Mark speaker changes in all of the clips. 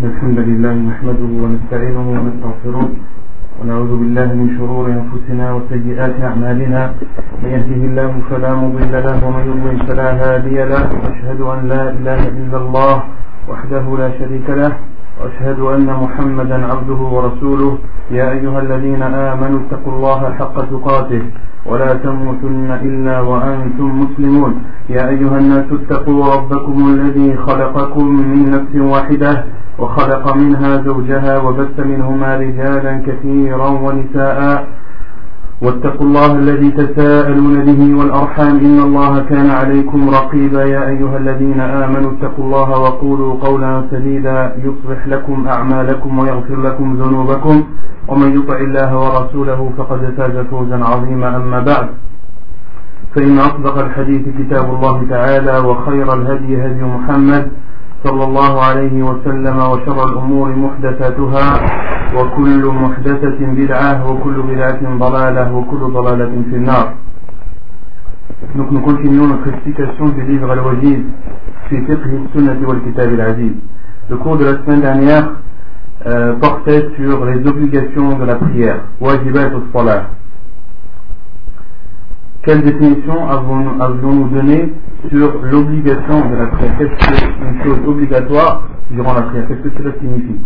Speaker 1: الحمد لله نحمده ونستعينه ونستغفره ونعوذ بالله من شرور أنفسنا وسيئات أعمالنا. من يهده الله فلا مضل له ومن يضلل فلا هادي له. وأشهد أن لا إله إلا الله وحده لا شريك له وأشهد أن محمدا عبده ورسوله. يا أيها الذين آمنوا اتقوا الله حق تقاته ولا تموتن إلا وأنتم مسلمون. يا أيها الناس اتقوا ربكم الذي خلقكم من نفس واحدة وخلق منها زوجها وبث منهما رجالا كثيرا ونساء واتقوا الله الذي تساءلون به والأرحام إن الله كان عليكم رقيبا. يا أيها الذين آمنوا اتقوا الله وقولوا قولا سديدا يصلح لكم أعمالكم ويغفر لكم ذنوبكم ومن يطع الله ورسوله فقد فاز فوزا عظيما. أما بعد فإن أصدق الحديث كتاب الله تعالى وخير الهدي هدي محمد صلى الله عليه وسلم وشر الأمور محدثاتها وكل محدثة بدعة وكل بدعة ضلالة وكل ضلالة في النار. Donc nous continuons notre explication du livre Al-Wajiz fi fiqh as-sunnah wal kitab al-aziz. Le cours de la semaine dernière portait sur les obligations de la prière, wajibat as-salah. Quelle définition avons-nous donné sur l'obligation de la prière? Qu'est-ce qu'une chose obligatoire durant la prière? Qu'est-ce que cela signifie?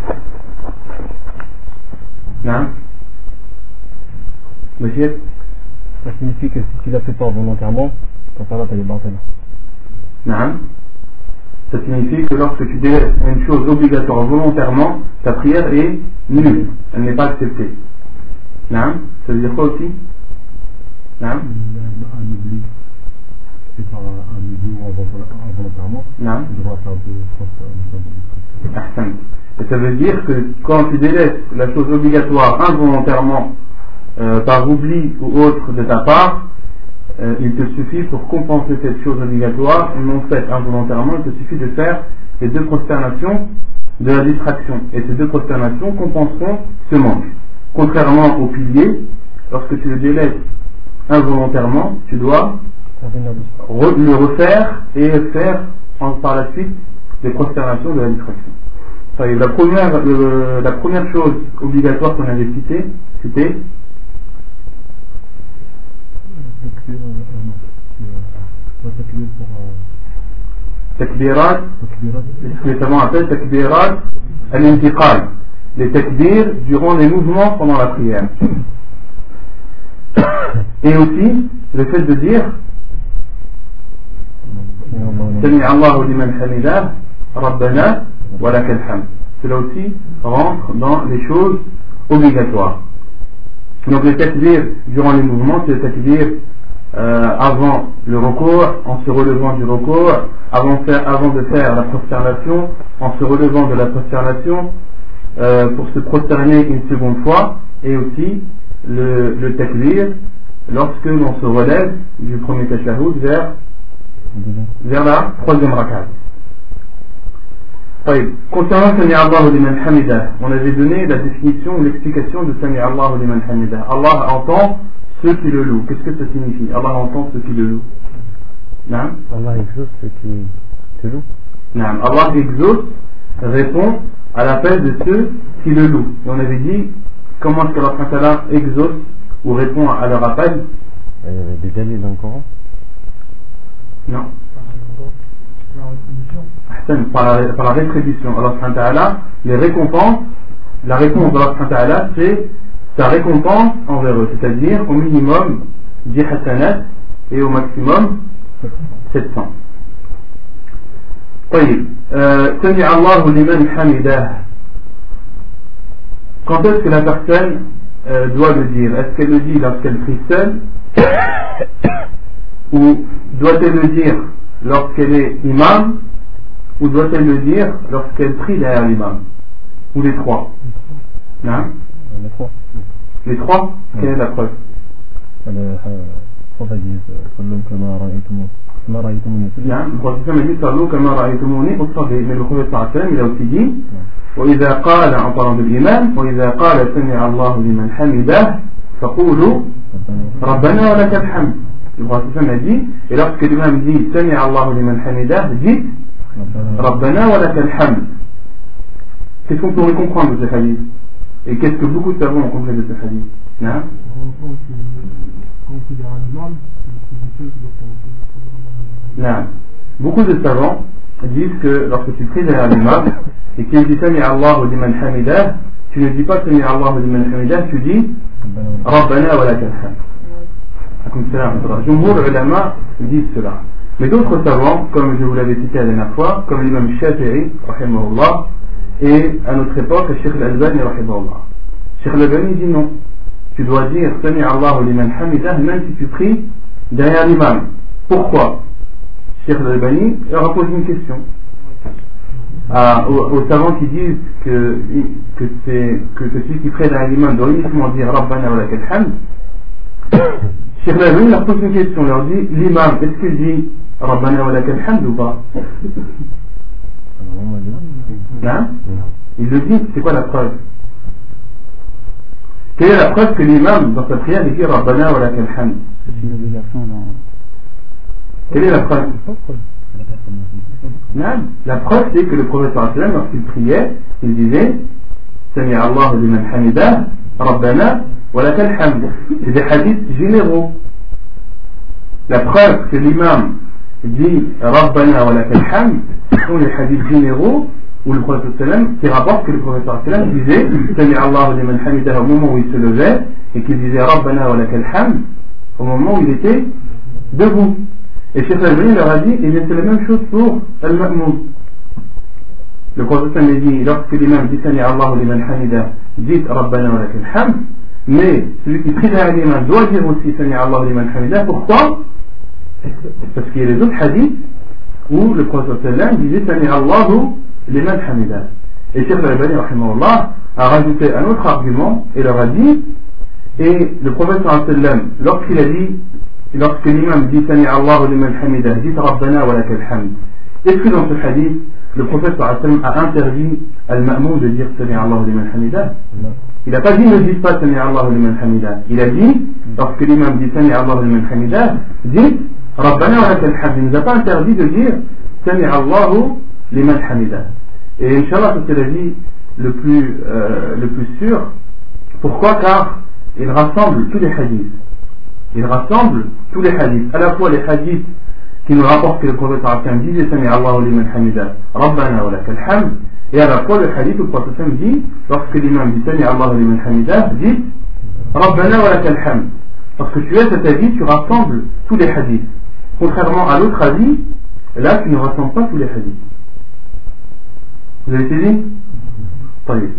Speaker 1: Non? Monsieur?
Speaker 2: Ça signifie que si tu la fais pas volontairement, ton salat est batil.
Speaker 1: Non? Ça signifie que lorsque tu délaisses une chose obligatoire volontairement, ta prière est nulle, elle n'est pas acceptée. Non? Ça veut dire quoi aussi? Non?
Speaker 2: Un oubli, c'est par un oubli ou involontairement.
Speaker 1: Non?
Speaker 2: Tu devras faire deux fois.
Speaker 1: Et ça veut dire que quand tu délaisses la chose obligatoire involontairement par oubli ou autre de ta part, il te suffit pour compenser cette chose obligatoire non faite involontairement, il te suffit de faire les deux prosternations de la distraction. Et ces deux prosternations compenseront ce manque. Contrairement au pilier, lorsque tu le délaisses involontairement, tu dois le refaire et faire par la suite les prosternations de la distraction. La première chose obligatoire qu'on avait citée, c'était takbirat, ce que les savants appellent takbirat al-intiqal, les takbirs durant les mouvements pendant la prière. Et aussi le fait de dire Sami Allahu liman hamidah Rabbana wa lakal hamd. Cela aussi rentre dans les choses obligatoires. Donc les takbirs durant les mouvements, c'est les takbirs avant le recours, en se relevant du recours, avant de faire la prosternation, en se relevant de la prosternation, pour se prosterner une seconde fois, et aussi le takbir lorsque l'on se relève du premier tashahhud vers la troisième rakat. Concernant Sami Allahu liman hamidah, on avait donné la définition ou l'explication de Sami Allahu liman hamidah. Allah entend ceux qui le louent. Qu'est-ce que ça signifie? Allah entend ceux qui le louent. Non?
Speaker 2: Allah exauce ceux qui te louent.
Speaker 1: Non. Allah exauce, répond à l'appel de ceux qui le louent. Et on avait dit comment est-ce que Allah exauce ou répond à leur appel?
Speaker 2: Il y avait des dalils dans le Coran?
Speaker 1: Non. Par la rétribution. Allah, les récompenses, la réponse d'Allah, c'est sa récompense envers eux, c'est-à-dire au minimum 10 hasanat et au maximum 700. Sami Allahu liman hamidah. Quand est-ce que la personne doit le dire? Est-ce qu'elle le dit lorsqu'elle prie seule ou doit-elle le dire lorsqu'elle est imam ou doit-elle le dire lorsqu'elle prie derrière l'imam? Ou les trois? Non?
Speaker 2: Les trois.
Speaker 1: Les trois? Quelle est la preuve?
Speaker 2: Le prophète dit
Speaker 1: le prophète m'a dit Sallu kama ra'aytumuni usalli. Mais le prophète il a aussi dit وإذا قال en parlant de l'imam وإذا قال سمع الله لمن حمده فقولوا ربنا ولك الحمد. Le prophète a dit, et lorsque l'imam dit Sami Allahu liman hamidah, dites Rabbana wa lakal hamd. Qu'est-ce qu'on pourrait comprendre de ce hadith? Et qu'est-ce que beaucoup de savants ont compris de ce hadith? Non? Non. Beaucoup de savants disent que lorsque tu pries derrière l'imam et qu'il dit Sami Allahu liman hamidah, tu ne dis pas Sami Allahu liman hamidah, tu dis Rabbana wa lakal hamd. Jumhur ulama disent cela. Mais d'autres savants, comme je vous l'avais cité la dernière fois, comme l'imam Shafi'i, rahimahullah, et à notre époque, Cheikh Al-Albani, rahimahullah. Cheikh Al-Albani dit non. Tu dois dire Sami Allahu liman hamidah même si tu pries derrière l'imam. Pourquoi? Cheikh Al-Albani leur a posé une question. Aux savants qui disent que celui qui prie derrière l'imam doit uniquement dire Rabbana wa lakal hamd, Cheikh Al-Albani leur pose une question, leur dit l'imam, est-ce qu'il dit Rabbana wa lakal hamd ou pas? Non? Il le dit, c'est quoi la preuve? Quelle est la preuve que l'imam dans sa prière dit Rabbana wa lakal hamd? Quelle est la preuve? Non, la preuve c'est que le prophète lorsqu'il priait, il disait Sami Allahu liman hamidah Rabbana wa lakal hamd. C'est des hadiths généraux. La preuve que l'imam dit Rabbana wa lakal hamd sont les hadiths généraux où le prophète qui rapporte que le prophète disait Sami Allahu liman hamidah au moment où il se levait et qu'il disait Rabbana wa lakal hamd au moment où il était debout. Et Cheikh Al-Albani leur a dit, et c'est la même chose pour Al-Ma'moum. Le prophète a dit, lorsque l'imam dit Sami Allahu liman hamidah, dites Rabbana wa lakal hamd, mais celui qui prie derrière l'imam doit dire aussi Sami Allahu liman hamidah. Pourquoi? Parce qu'il y a les autres hadiths où le prophète disait Sami Allahu liman hamidah. Et Cheikh Al-Albani rahimahullah a rajouté un autre argument et leur a dit, et le prophète lorsqu'il a dit, lorsque l'imam dit Sami Allahu liman hamidah, dit Rabbana wa lakal hamd, est-ce que dans ce hadith le prophète a interdit al-ma'moum de dire Sami Allahu liman hamidah? Il n'a pas dit ne dites pas Sami Allahu liman hamidah. Il a dit lorsque l'imam dit Sami Allahu liman hamidah, dites Rabbana wa lakal hamd. Il ne nous a pas interdit de dire Sami Allahu liman hamidah. Et Inch'Allah, c'est l'avis le plus sûr. Pourquoi? Car il rassemble tous les hadiths. Il rassemble tous les hadiths, à la fois les hadiths qui nous rapportent que le prophète disait Sami Allahu liman hamidah Rabbana wa lakal hamd, et à la fois le hadith où le prophète dit, lorsque l'imam dit Sami Allahu liman hamidah, dit Rabbana wa lakal hamd. Parce que tu as cet avis, tu rassembles tous les hadiths. Contrairement à l'autre avis, là tu ne rassembles pas tous les hadiths. Vous avez saisi? Taïb.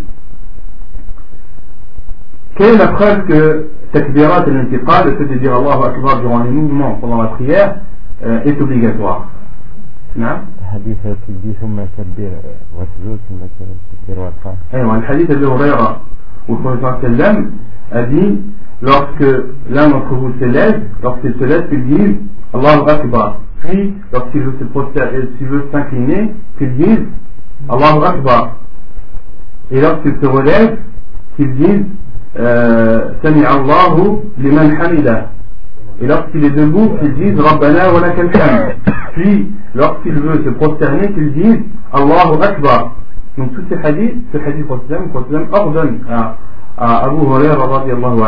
Speaker 1: Quelle est la preuve que Takbirat al-intiqal, le fait de dire Allahu Akbar durant les mouvements pendant la prière, est obligatoire? Non?
Speaker 3: الحديث اللي ثم كبر وسجود ثم كبر والقاء.
Speaker 1: أيوة, le hadith d'Abu Huraira où le prophète a dit lorsque l'un d'entre vous s'élève, lorsqu'il se lève, qu'il dise Allahu Akbar. Puis, lorsqu'il veut s'incliner, qu'il dise Allahu Akbar. Et lorsqu'il se relève, qu'il dise Sami Allahu liman hamidah. Et lorsqu'il est debout, qu'il dise Rabbana wa lakal hamd. Puis, lorsqu'il veut se prosterner, qu'il dise Allahu Akbar. Donc, tous ces hadiths, ce hadith le prophète ordonne à Abu Huraira radiyallahu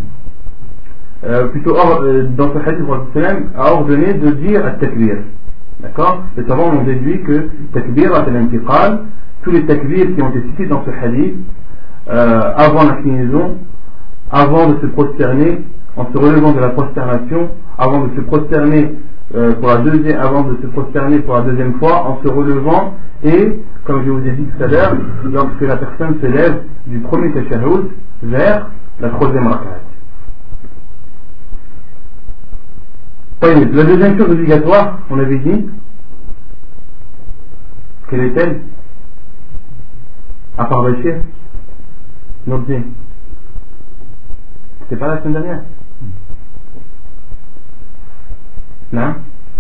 Speaker 1: anhu, plutôt dans ce hadith, le prophète a ordonné de dire at-takbir. D'accord? Les savants ont déduit que takbir al-intiqal, tous les takbirs qui ont été cités dans ce hadith, avant l'inclinaison, avant de se prosterner, en se relevant de la prosternation, avant de se prosterner avant de se prosterner pour la deuxième fois, en se relevant, et comme je vous ai dit tout à l'heure, lorsque la personne se lève du premier tashahhud vers la troisième rak'at. La deuxième chose obligatoire, on avait dit, quelle est-elle? À part Bachir, Nordin. C'était pas la semaine dernière? Non?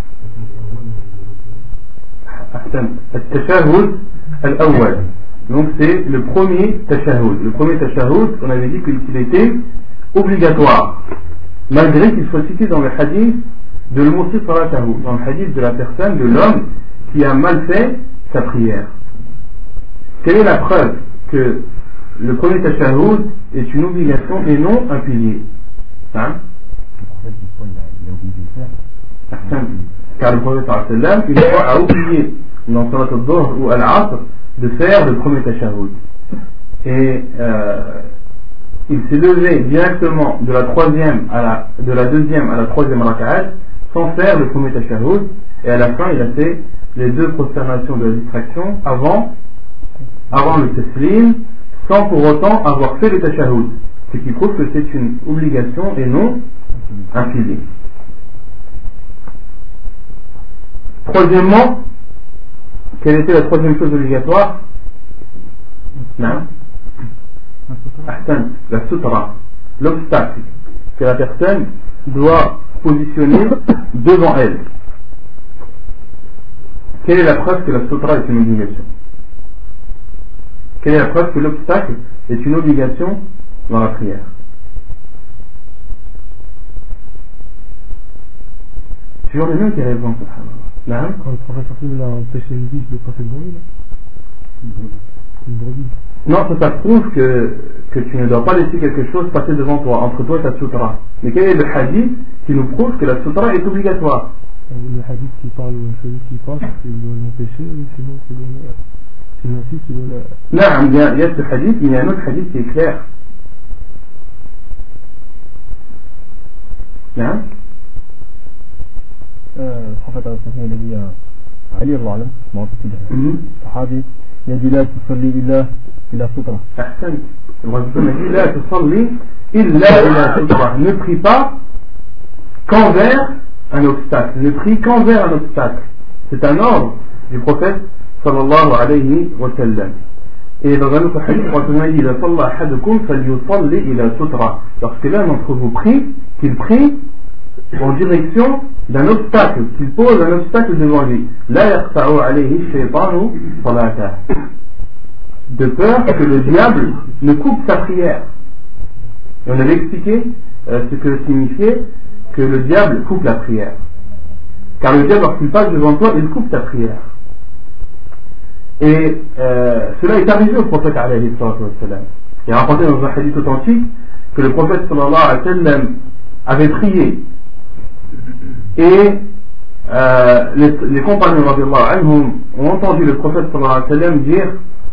Speaker 1: التشهد الأول. Donc c'est le premier tashahhud. Le premier tashahhud, on avait dit qu'il était obligatoire, malgré qu'il soit cité dans le hadith de l'Musi Salatahu, dans le hadith de la personne, de l'homme qui a mal fait sa prière. Quelle est la preuve que le premier tashahhud est une obligation et non un pilier. Hein?
Speaker 2: En fait, une fois, il a obligé de faire.
Speaker 1: Car le prophète sallam, une fois, a oublié dans Salat al-Dhuhr ou al-Asr de faire le premier tashahhud. Et il s'est levé directement de la deuxième à la troisième raka'at sans faire le premier tashahhud, et à la fin il a fait les deux prosternations de la distraction avant le taslim, sans pour autant avoir fait le tashahhud, ce qui prouve que c'est une obligation et non un pilier. Troisièmement, quelle était la troisième chose obligatoire? Non? La sutra, l'obstacle que la personne doit positionner devant elle. Quelle est la preuve que la sutra est une obligation? Quelle est la preuve que l'obstacle est une obligation dans la prière? Toujours le même qui répond.
Speaker 2: Quand le prophète il a empêché une biche de passer devant lui, une brebis.
Speaker 1: Non, ça prouve que tu ne dois pas laisser quelque chose passer devant toi, entre toi et ta sutra. Mais quel est le hadith qui nous prouve que la sutra est obligatoire?
Speaker 2: Le hadith qui parle, celui qui passe, il doit l'empêcher, sinon s'il insiste, il doit la...
Speaker 1: Non, il y a ce hadith, il y a un autre hadith qui est clair. Non?
Speaker 3: Le prophète il a dit à Ali Allah, je m'en rappelle plus, sahabi, il a dit la tusalli illa sutra.
Speaker 1: Ahsan. Le prophète a dit la tusalli illa sutra. Ne prie pas qu'envers un obstacle. Ne prie qu'envers un obstacle. C'est un ordre du prophète sallallahu alayhi wa sallam. Et dans un autre hadith, le prophète a dit la salla ahadukum falyusalli ila sutra. Lorsque l'un d'entre vous prie, qu'il prie en direction d'un obstacle, qu'il pose un obstacle devant lui. La yaqta'u alayhi shaytanu salata. De peur que le diable ne coupe sa prière. Et on avait expliqué ce que signifiait que le diable coupe la prière. Car le diable, lorsqu'il passe devant toi, il coupe ta prière. Et cela est arrivé au prophète alayhi sallam. Il est rapporté dans un hadith authentique que le prophète sallallahu alayhi wa sallam avait prié. Et les compagnons radiyallahu anhum ont entendu le prophète sallallahu alayhi wa sallam dire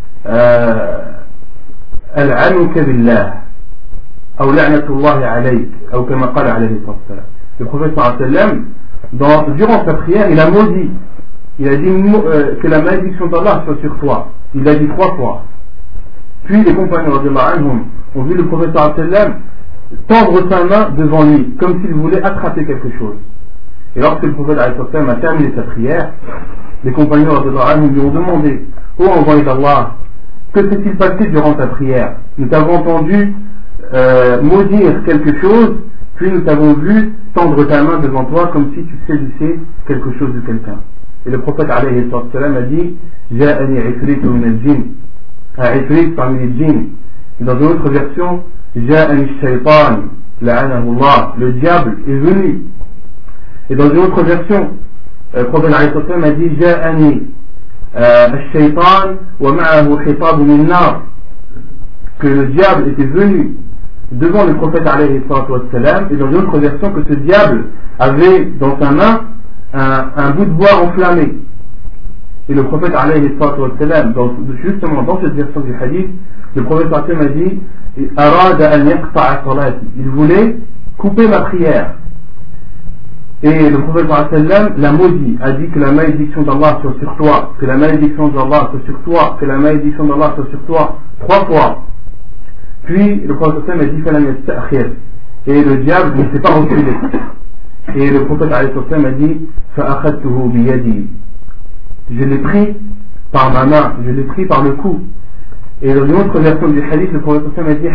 Speaker 1: Al'anuka billah ou la'natullahi alayk ou kama qala alayhi sallam. Le prophète sallallahu alayhi wa sallam durant sa prière il a maudit, il a dit que la malédiction d'Allah soit sur toi, il l'a dit 3 fois. Puis les compagnons radiyallahu anhum ont vu le prophète sallallahu alayhi wa sallam tendre sa main devant lui comme s'il voulait attraper quelque chose. Et lorsque le prophète a terminé sa prière, les compagnons lui ont demandé: ô envoyé d'Allah, que s'est-il passé durant ta prière? Nous t'avons entendu maudire quelque chose, puis nous t'avons vu tendre ta main devant toi comme si tu saisissais quelque chose de quelqu'un. Et le prophète alayhi salam a dit: Ja'ani ifritu min al-jinn, un ifrit parmi les djinns. Et dans une autre version, Ja'ani shaytan, la'anahu Allah, le diable est venu. Et dans une autre version, le prophète alayhi salam a dit: Ja'ani al-shaytan wa ma'ahu hitab min nar, que le diable était venu devant le prophète alayhi salam, et dans une autre version que ce diable avait dans sa main un bout de bois enflammé. Et le prophète alayhi salam, justement dans cette version du hadith, le prophète a dit: Arada an yaqta'a salati, il voulait couper ma prière. Et le prophète sallam l'a maudit, a dit que la malédiction d'Allah soit sur toi, que la malédiction d'Allah soit sur toi, que la malédiction d'Allah soit sur toi 3 fois. Puis le prophète sallam a dit falam yasta'khir, et le diable ne s'est pas reculé. Et le prophète sallam a dit fa'akhadtuhu biyadi, je l'ai pris par ma main, je l'ai pris par le cou. Et dans une autre version du hadith, le prophète sallam a dit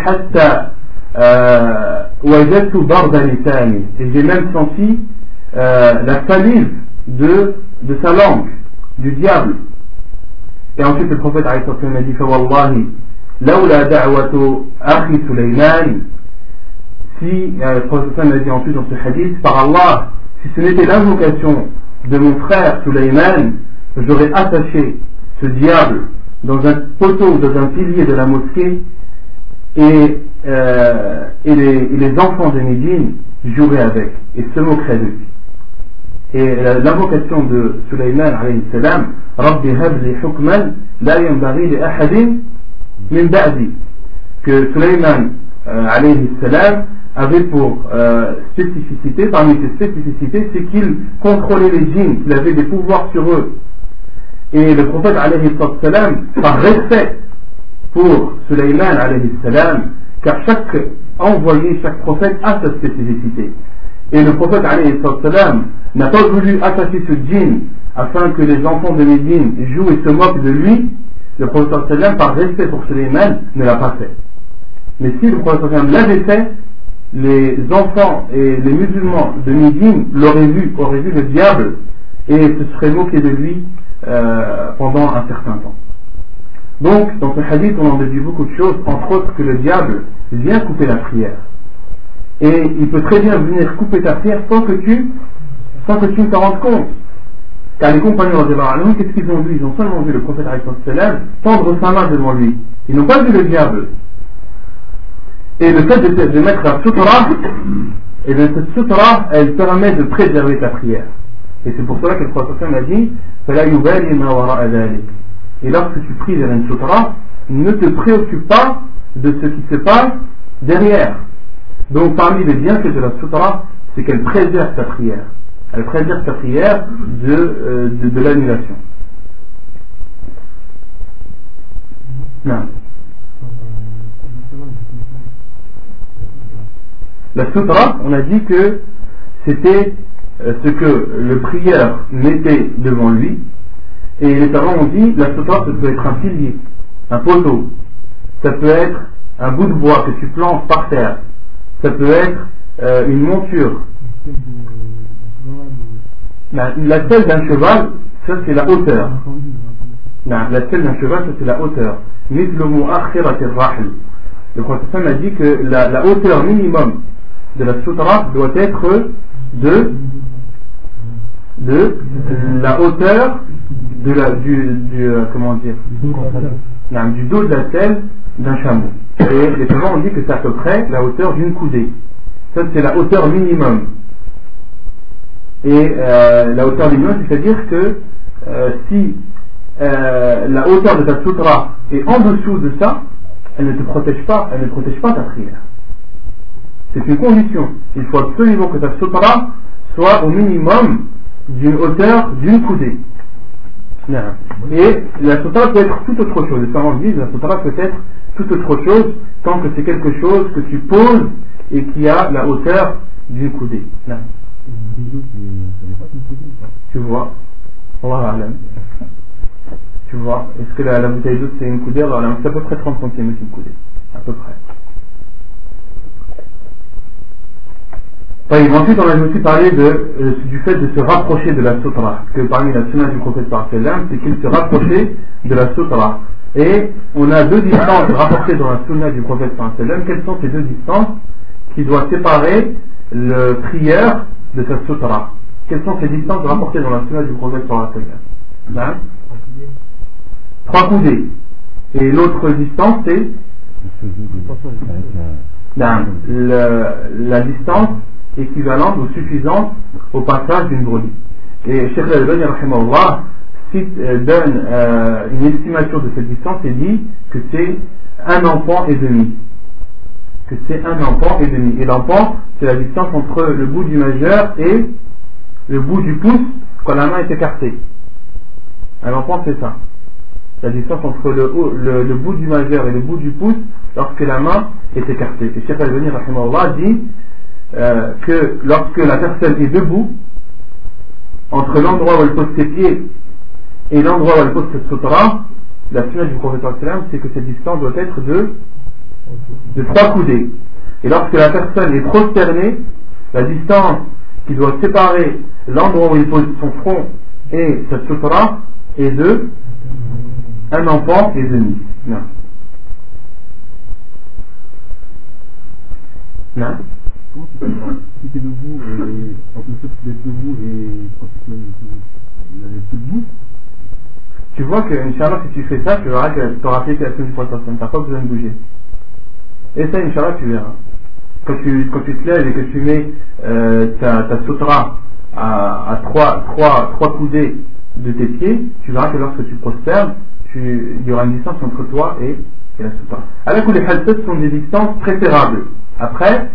Speaker 1: hatta wajadtu darda lisani, et j'ai même senti la salive de sa langue, du diable. Et ensuite le prophète a dit Fawallahi, lawla da'watu akhi Sulayman, si le prophète a dit ensuite dans ce hadith, par Allah, si ce n'était l'invocation de mon frère Sulayman, j'aurais attaché ce diable dans un poteau, dans un pilier de la mosquée, et les enfants de Médine joueraient avec et se moqueraient de lui. Et l'invocation de Sulayman alayhi salam, Rabbi habli hukman la yanbaghi li ahadin min ba'di, que Sulayman alayhi salam avait pour spécificité, parmi ses spécificités, c'est qu'il contrôlait les djinns, qu'il avait des pouvoirs sur eux. Et le prophète alayhi salam, par respect pour Sulayman alayhi salam, car chaque envoyé, chaque prophète a sa spécificité. Et le prophète alayhi salam n'a pas voulu attaquer ce djinn afin que les enfants de Médine jouent et se moquent de lui. Le prophète sallam, par respect pour Sulayman, ne l'a pas fait. Mais si le prophète sallam l'avait fait, les enfants et les musulmans de Médine auraient vu le diable et se seraient moqués de lui pendant un certain temps. Donc, dans ce hadith, on en déduit beaucoup de choses, entre autres que le diable vient couper la prière. Et il peut très bien venir couper ta prière sans que tu ne t'en rendes compte. Car les compagnons, qu'est-ce qu'ils ont vu? Ils ont seulement vu le prophète tendre sa main devant lui. Ils n'ont pas vu le diable. Et le fait de mettre la sutra, et bien cette sutra, elle permet de préserver ta prière. Et c'est pour cela que le prophète a dit, et lorsque tu pries vers une sutra, ne te préoccupe pas de ce qui se passe derrière. Donc parmi les bienfaits de la sutra, c'est qu'elle préserve ta prière. Elle préserve ta prière de l'annulation. Non. La sutra, on a dit que c'était ce que le prieur mettait devant lui. Et les savants ont dit, la sutra, ça peut être un pilier, un poteau, ça peut être un bout de bois que tu plantes par terre, ça peut être une monture. La selle d'un cheval, ça c'est la hauteur. La selle d'un cheval, ça c'est la hauteur. Le prophète a dit que la hauteur minimum de la sutra doit être de la hauteur du dos de la selle d'un chameau. Et les savants ont dit que c'est à peu près la hauteur d'une coudée. Ça c'est la hauteur minimum. Et la hauteur minimum, c'est-à-dire que si la hauteur de ta sutra est en dessous de ça, elle ne protège pas ta prière. C'est une condition. Il faut absolument que ta sutra soit au minimum d'une hauteur d'une coudée. Et la sutra peut être tout autre chose. Les savants disent la sutra peut être tout autre chose tant que c'est quelque chose que tu poses et qui a la hauteur d'une coudée. Tu vois, Allah A'lam. Tu vois, est-ce que la bouteille d'eau c'est une coudée? Alors c'est à peu près 30 cm une coudée, à peu près. Ensuite on a aussi parlé du fait de se rapprocher de la sutra, que parmi la sunna du prophète c'est qu'il se rapprochait de la sutra. Et on a deux distances rapportées dans la sunna du prophète. Quelles sont ces deux distances qui doivent séparer le prieur de sa sutra? Quelles sont ces distances rapportées dans la sunna du prophète? 3 coudées. Et l'autre distance c'est la distance équivalente ou suffisante au passage d'une brebis. Et Cheikh Al-Albani rahimahullah donne une estimation de cette distance et dit que c'est 1 enfant et demi. Et l'enfant, c'est la distance entre le bout du majeur et le bout du pouce quand la main est écartée. Un enfant, c'est ça. La distance entre le bout du majeur et le bout du pouce lorsque la main est écartée. Et Cheikh Al-Albani rahimahullah dit que lorsque la personne est debout, entre l'endroit où elle pose ses pieds et l'endroit où elle pose cette sutra, la sunna du prophète c'est que cette distance doit être de 3 coudées. Et lorsque la personne est prosternée, la distance qui doit séparer l'endroit où il pose son front et sa sutra est de 1 enfant et demi. Non.
Speaker 3: Si tu es debout, entre le fait d'être debout et quand tu es debout,
Speaker 1: tu vois que, Inch'Allah, si tu fais ça, tu verras que tu auras fait la sunna du prophète, tu n'as pas besoin de bouger. Et ça, Inch'Allah, tu verras. Quand tu te lèves et que tu mets ta sutra à trois coudées de tes pieds, tu verras que lorsque tu prosternes, il y aura une distance entre toi et la sutra. Alors que les halsat sont des distances préférables. Après,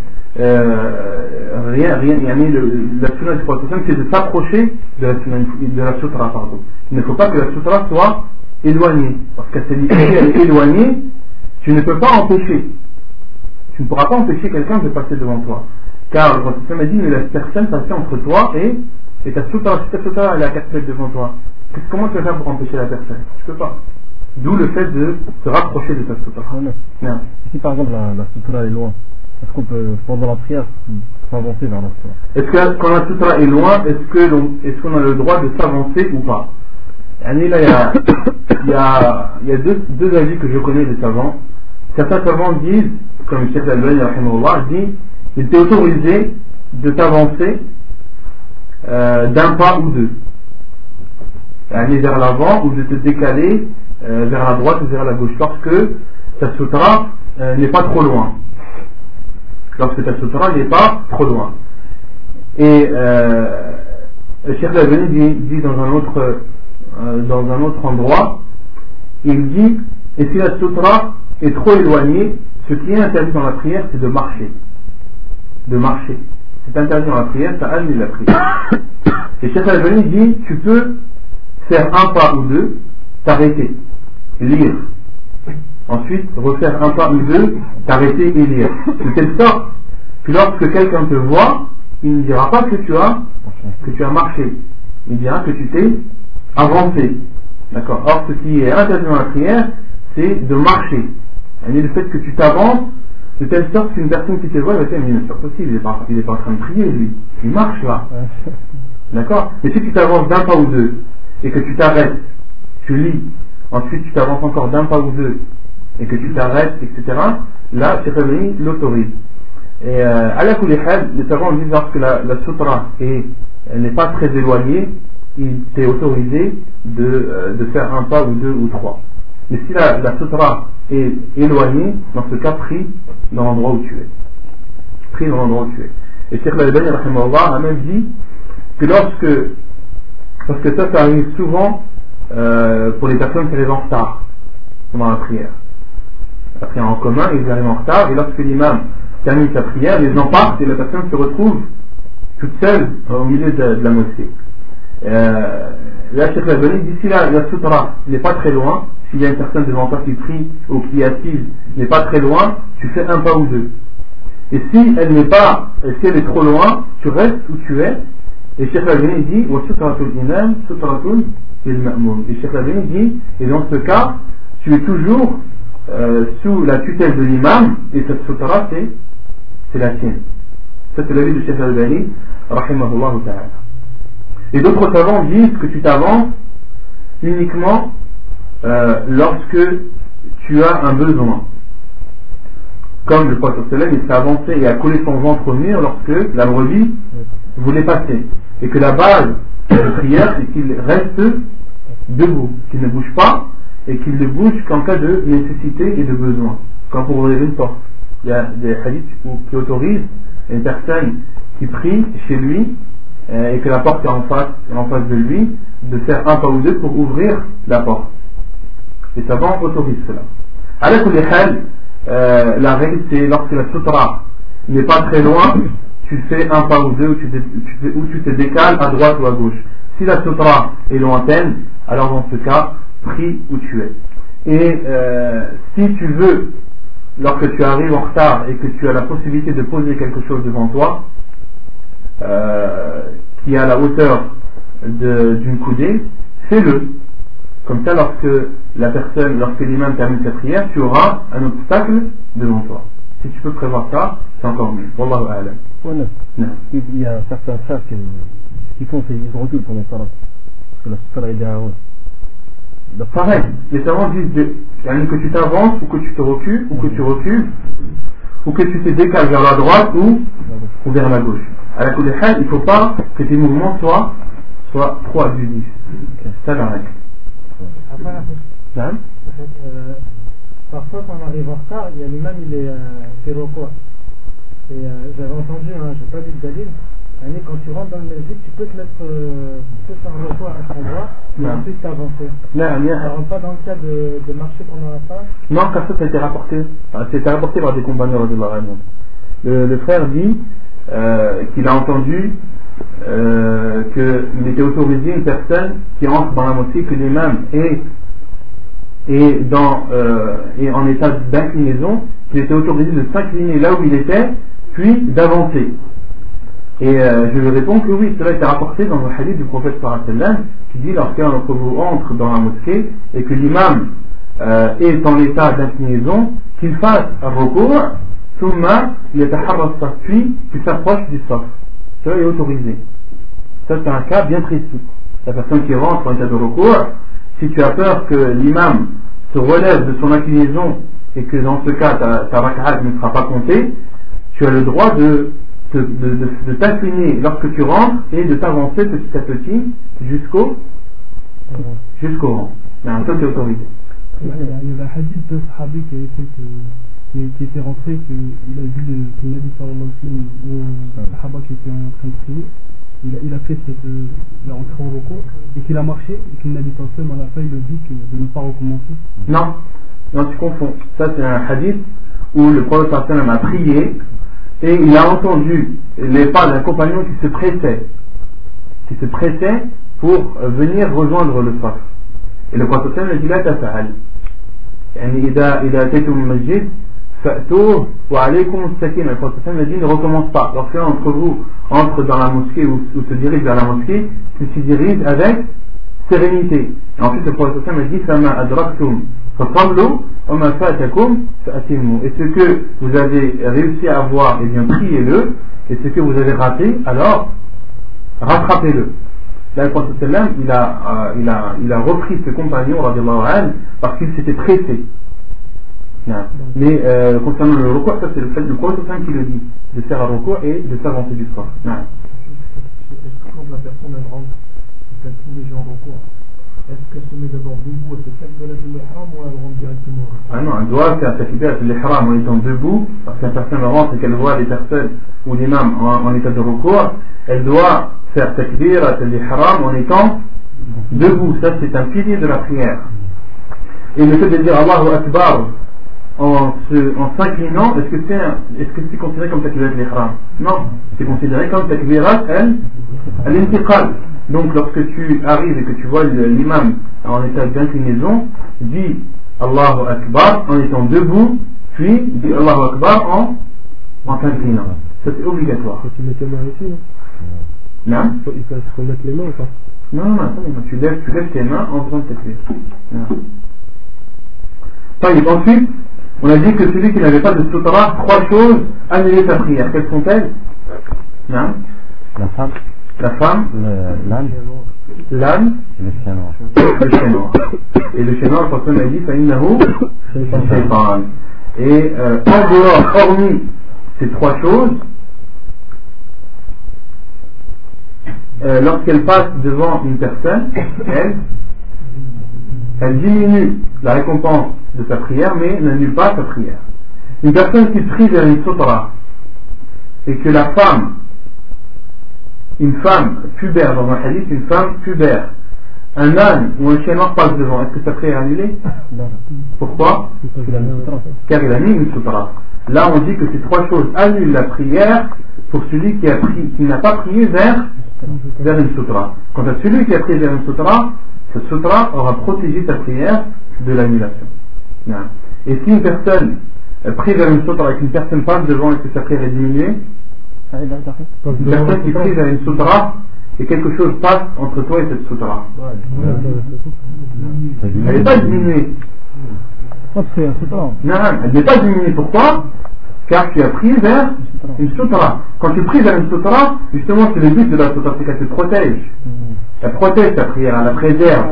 Speaker 1: la sunna du prophète, c'est de s'approcher de la sutra, pardon. Il ne faut pas que la sutra soit éloignée, parce qu'à si elle est éloignée, tu ne peux pas empêcher. Tu ne pourras pas empêcher quelqu'un de passer devant toi. Car le prophète m'a dit, mais laisse personne passer entre toi et ta sutra. Si ta sutra elle est à 4 mètres devant toi, comment tu vas faire pour empêcher la personne? Tu peux pas. D'où le fait de se rapprocher de ta sutra.
Speaker 3: Non. Si par exemple la sutra est loin, est-ce qu'on peut, pendant la prière, s'avancer vers la sutra?
Speaker 1: Est-ce que quand la sutra est loin, est-ce qu'on a le droit de s'avancer ou pas? Là, il y a deux avis que je connais des savants. Certains savants disent, comme le Cheikh Al-Albani dit, il t'est autorisé de t'avancer d'un pas ou deux, aller vers l'avant, ou de te décaler vers la droite ou vers la gauche, lorsque ta sutra n'est pas trop loin. Lorsque ta sutra n'est pas trop loin. Et le Cheikh Al-Albani dit dans un autre endroit, il dit, et si la sutra est trop éloignée, ce qui est interdit dans la prière, c'est de marcher. De marcher. C'est interdit dans la prière, ça annule la prière. Et Cheikh Al-Albani dit, tu peux faire un pas ou deux, t'arrêter, lire. Ensuite, refaire un pas ou deux, t'arrêter et lire. De telle sorte que lorsque quelqu'un te voit, il ne dira pas que tu as marché. Il dira que tu t'es avancé. D'accord. Or, ce qui est interdit dans la prière, c'est de marcher. Et le fait que tu t'avances de telle sorte qu'une personne qui te voit va dire, mais c'est pas possible, il est pas en train de prier lui, il marche là. D'accord. Mais si tu t'avances d'un pas ou deux et que tu t'arrêtes, tu lis, ensuite tu t'avances encore d'un pas ou deux et que tu t'arrêtes, etc., là Cheikh Al-Albani l'autorise. Et à la kulihal, les savants disent lorsque la sutra n'est pas très éloignée, il t'est autorisé de faire un pas ou deux ou trois. Mais si la sutra est éloignée, dans ce cas, prie dans l'endroit où tu es. Prie dans l'endroit où tu es. Et Cheikh Al-Albani a même dit que parce que ça arrive souvent pour les personnes qui arrivent en retard pendant la prière. La prière en commun, ils arrivent en retard, et lorsque l'imam termine sa prière, les gens partent et la personne se retrouve toute seule au milieu de la mosquée. Là, Cheikh Al-Albani dit, si la sutra n'est pas très loin, s'il y a une personne devant toi qui prie ou qui est assise, n'est pas très loin, tu fais un pas ou deux. Et si elle est trop loin, tu restes où tu es. Et Cheikh Al-Albani dit, wa sutratul imam sutratul lil ma'mum. Et Cheikh Al-Albani dit, et dans ce cas, tu es toujours sous la tutelle de l'imam, et cette sutra c'est la tienne. Ça c'est l'avis de Cheikh Al-Albani, rahimahullah ta'ala. Et d'autres savants disent que tu t'avances uniquement lorsque tu as un besoin. Comme le prophète il s'est avancé et a collé son ventre au mur lorsque la brebis voulait passer. Et que la base de la prière, c'est qu'il reste debout, qu'il ne bouge pas, et qu'il ne bouge qu'en cas de nécessité et de besoin. Comme pour ouvrir une porte. Il y a des hadiths qui autorisent une personne qui prie chez lui, et que la porte est en face de lui, de faire un pas ou deux pour ouvrir la porte. Les savants autorisent cela. À la règle c'est lorsque la sutra n'est pas très loin, tu fais un pas ou deux ou tu te décales à droite ou à gauche. Si la sutra est lointaine, alors dans ce cas, prie où tu es. Et si tu veux, lorsque tu arrives en retard et que tu as la possibilité de poser quelque chose devant toi, qui est à la hauteur d'une coudée, fais-le. Comme ça, lorsque l'imam termine sa prière, tu auras un obstacle devant toi. Si tu peux prévoir ça, c'est encore mieux. Wallahu a'lam.
Speaker 3: Ouais, non. Il y a certains frères qui font ils reculent pendant ça. Parce que la sutra est derrière eux.
Speaker 1: Pareil, les savants disent que tu t'avances ou que tu te recules, ou que tu recules, ou que tu te décales vers la droite ou vers la gauche. À la kulihal, il ne faut pas que tes mouvements soient trop abusifs. C'est ça la règle.
Speaker 4: Parfois, quand on arrive en retard, il y a l'imam, il est fait recours. Et j'avais entendu, j'ai pas dit de dalil, quand tu rentres dans le masjid, tu peux te mettre, tu peux faire un recours à cet endroit, et ensuite t'avancer. Ça rentre pas dans le cas de marcher pendant la phase.
Speaker 1: Non, car ça a été rapporté. C'était rapporté par des compagnons de la le frère dit qu'il a entendu qu'il était autorisé une personne qui entre dans la mosquée, que l'imam est en état d'inclinaison, qu'il était autorisé de s'incliner là où il était, puis d'avancer. Et je lui réponds que oui, cela a été rapporté dans le hadith du prophète sallallahu alayhi wa sallam, qui dit lorsqu'un d'entre vous entre dans la mosquée et que l'imam est en état d'inclinaison, qu'il fasse un recours, thumma yataharra as-saf, puis qu'il s'approche du saf. Cela est autorisé. Ça c'est un cas bien précis. La personne qui rentre en état de recours, si tu as peur que l'imam se relève de son inclinaison et que dans ce cas ta rak'at ne sera pas comptée, tu as le droit de t'incliner lorsque tu rentres et de t'avancer petit à petit jusqu'au rang. Ça c'est autorisé.
Speaker 2: Il y avait un hadith de Sahabi qui était rentré, qu'il a vu que Nabi sallallahu alayhi wa sallam, un Sahaba qui était en train de prier, il a fait il est rentré en recours et qu'il a marché et qu'il Nabi sallallahu alayhi wa sallam à la fin il a dit de ne pas recommencer.
Speaker 1: Non, tu confonds. Ça c'est un hadith où le prophète sallallahu alayhi wa sallam a prié et il a entendu les pas d'un compagnon qui se pressait pour venir rejoindre le saf. Et le prophète sallallahu alayhi wa sallam a dit la tafa'al. يعني إذا أتيتم المسجد فأتوه وعليكم السكينة. Le prophète sallallahu alayhi wa sallam a dit ne recommence pas. Lorsqu'un d'entre vous entre dans la mosquée ou se dirige vers la mosquée, il se dirige avec sérénité. Et ensuite le prophète sallallahu alayhi wa sallam a dit فما أدركتم فصلوا وما فاتكم فأتموا. Et ce que vous avez réussi à avoir, eh bien priez-le, et ce que vous avez raté, alors rattrapez-le. Là, le prophète sallam, il a repris ce compagnon radiallahu anhu parce qu'il s'était pressé. Mais concernant le recours, ça c'est le fait du prophète sallam qui le dit, de faire un recours et de s'avancer du soir.
Speaker 4: Est-ce que quand la personne elle rentre, elle fait les gens en recours, est-ce qu'elle se met d'abord debout, elle fait takbirat al-ihram ou elle rentre directement?
Speaker 1: Ah non, elle doit faire takbirat al-ihram en étant debout, parce qu'une personne rentre et qu'elle voit les personnes ou l'imam en état de recours, elle doit faire takbirat al-ihram en étant debout. Ça c'est un pilier de la prière. Et le fait de dire Allahu Akbar en s'inclinant, est-ce que c'est considéré comme takbirat al-ihram? Non, c'est considéré comme takbirat al-intiqal. Donc lorsque tu arrives et que tu vois l'imam en état d'inclinaison, dis Allahu Akbar en étant debout, puis dis Allahu Akbar en s'inclinant. Ça c'est obligatoire.
Speaker 2: Faut tu mets tes mains ici, non?
Speaker 1: Non.
Speaker 2: Il faut se remettre les mains ou pas?
Speaker 1: Non, tu lèves tes mains en faisant takbir. Ensuite, on a dit que celui qui n'avait pas de sutra, 3 choses annulaient sa prière. Quelles sont-elles? Non. La femme, l'âne,
Speaker 3: le chien noir.
Speaker 1: Et le chien noir, le prophète a dit فإنه شيطان. Et en dehors, hormis ces 3 choses, lorsqu'elle passe devant une personne, elle diminue la récompense de sa prière, mais n'annule pas sa prière. Une personne qui prie vers une sutra et que la femme, une femme pubère, dans un hadith, une femme pubère, un âne ou un chien noir passe devant, est-ce que sa prière est annulée? Pourquoi? Car il a mis une sutra. Là on dit que ces 3 choses annulent la prière pour celui qui n'a pas prié vers une sutra. Quant à celui qui a prié vers une sutra, cette sutra aura protégé sa prière de l'annulation. Et si une personne prie vers une sutra et qu'une personne passe devant, est-ce que sa prière est diminuée? Une personne qui prie vers une sutra et quelque chose passe entre toi et cette sutra, elle n'est pas diminuée. Non, elle n'est pas diminuée. Pourquoi? Car tu as pris vers une sutra. Quand tu pries vers une sutra, justement c'est le but de la sutra, c'est qu'elle te protège. Elle protège ta prière, elle la préserve.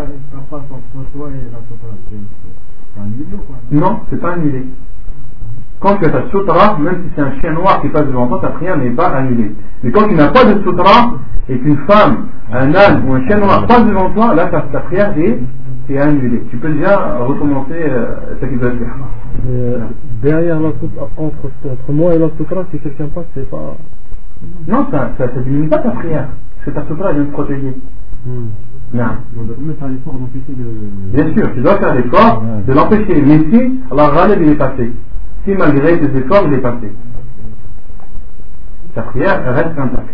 Speaker 1: Non, c'est pas annulé. Quand tu as ta sutra, même si c'est un chien noir qui passe devant toi, ta prière n'est pas annulée. Mais quand tu n'as pas de sutra et qu'une femme, un âne ou un chien noir passe devant toi, là ta prière est est annulé. Tu peux déjà recommencer ce qu'il doit faire.
Speaker 3: Derrière la soutra, entre moi et la soutra, si quelqu'un passe, c'est pas...
Speaker 1: Non, ça diminue pas ta prière. Parce que ta soutra vient de te protéger. Non.
Speaker 3: On doit faire l'effort d'empêcher de...
Speaker 1: Bien sûr, tu dois faire l'effort de l'empêcher. Mais si, alors Ghalib il est passé. Si malgré tes efforts, il est passé. Ta prière reste intacte.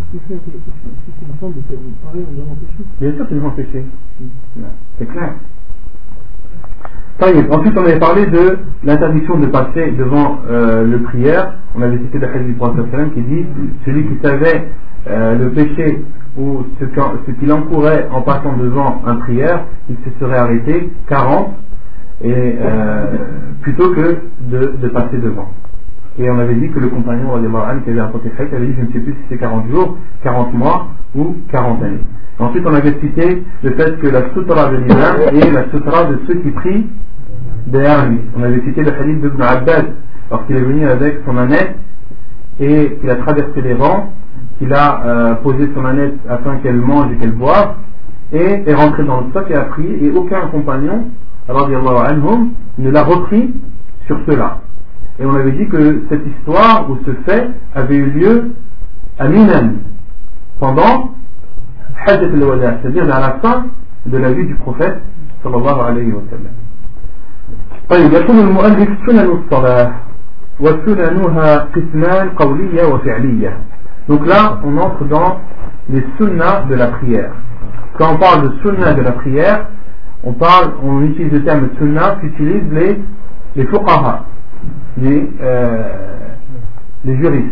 Speaker 1: Bien sûr qu'ils vont empêcher. C'est clair. Ensuite, on avait parlé de l'interdiction de passer devant le prière. On avait cité le hadith du prophète qui dit celui qui savait le péché ou ce qu'il encourait en passant devant un prière, il se serait arrêté 40 et plutôt que de passer devant. Et on avait dit que le compagnon qui avait rapporté Khaït avait dit, je ne sais plus si c'est 40 jours, 40 mois ou 40 années. Ensuite, on avait cité le fait que la sutra de l'imam est la sutra de ceux qui prient derrière lui. On avait cité le hadith d'Ibn Abbas lorsqu'il est venu avec son ânette et qu'il a traversé les rangs, qu'il a posé son ânette afin qu'elle mange et qu'elle boive, et est rentré dans le stock et a prié, et aucun compagnon, radiyallahu anhum, ne l'a repris sur cela. Et on avait dit que cette histoire ou ce fait avait eu lieu à Minan pendant Hajjat al-Wada, c'est-à-dire à la fin de la vie du prophète sallallahu alayhi wa sallam. طيب يقول المؤلف سنن الصلاة وسننها قسمان قولية وفعلية. Donc là on entre dans les sunnas de la prière. Quand on parle de sunnah de la prière, on utilise le terme sunnah qu'utilisent les fuqaha, les juristes.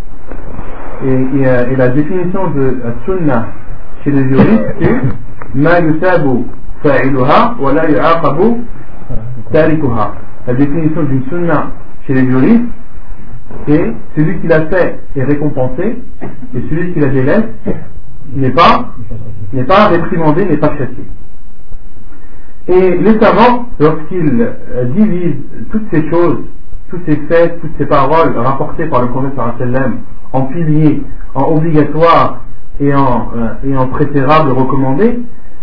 Speaker 1: Et la définition de sunnah chez les juristes, c'est ma yusabu fa'iluha wa la yu'aqabu tarikuha. La définition d'une sunnah chez les juristes, c'est celui qui l'a fait est récompensé et celui qui la délaisse n'est pas réprimandé, n'est pas châtié. Et les savants, lorsqu'ils divisent toutes ces choses, tous ces faits, toutes ces paroles rapportées par le prophète sallallahu alayhi wa sallam en piliers, en obligatoires et en préférables recommandés,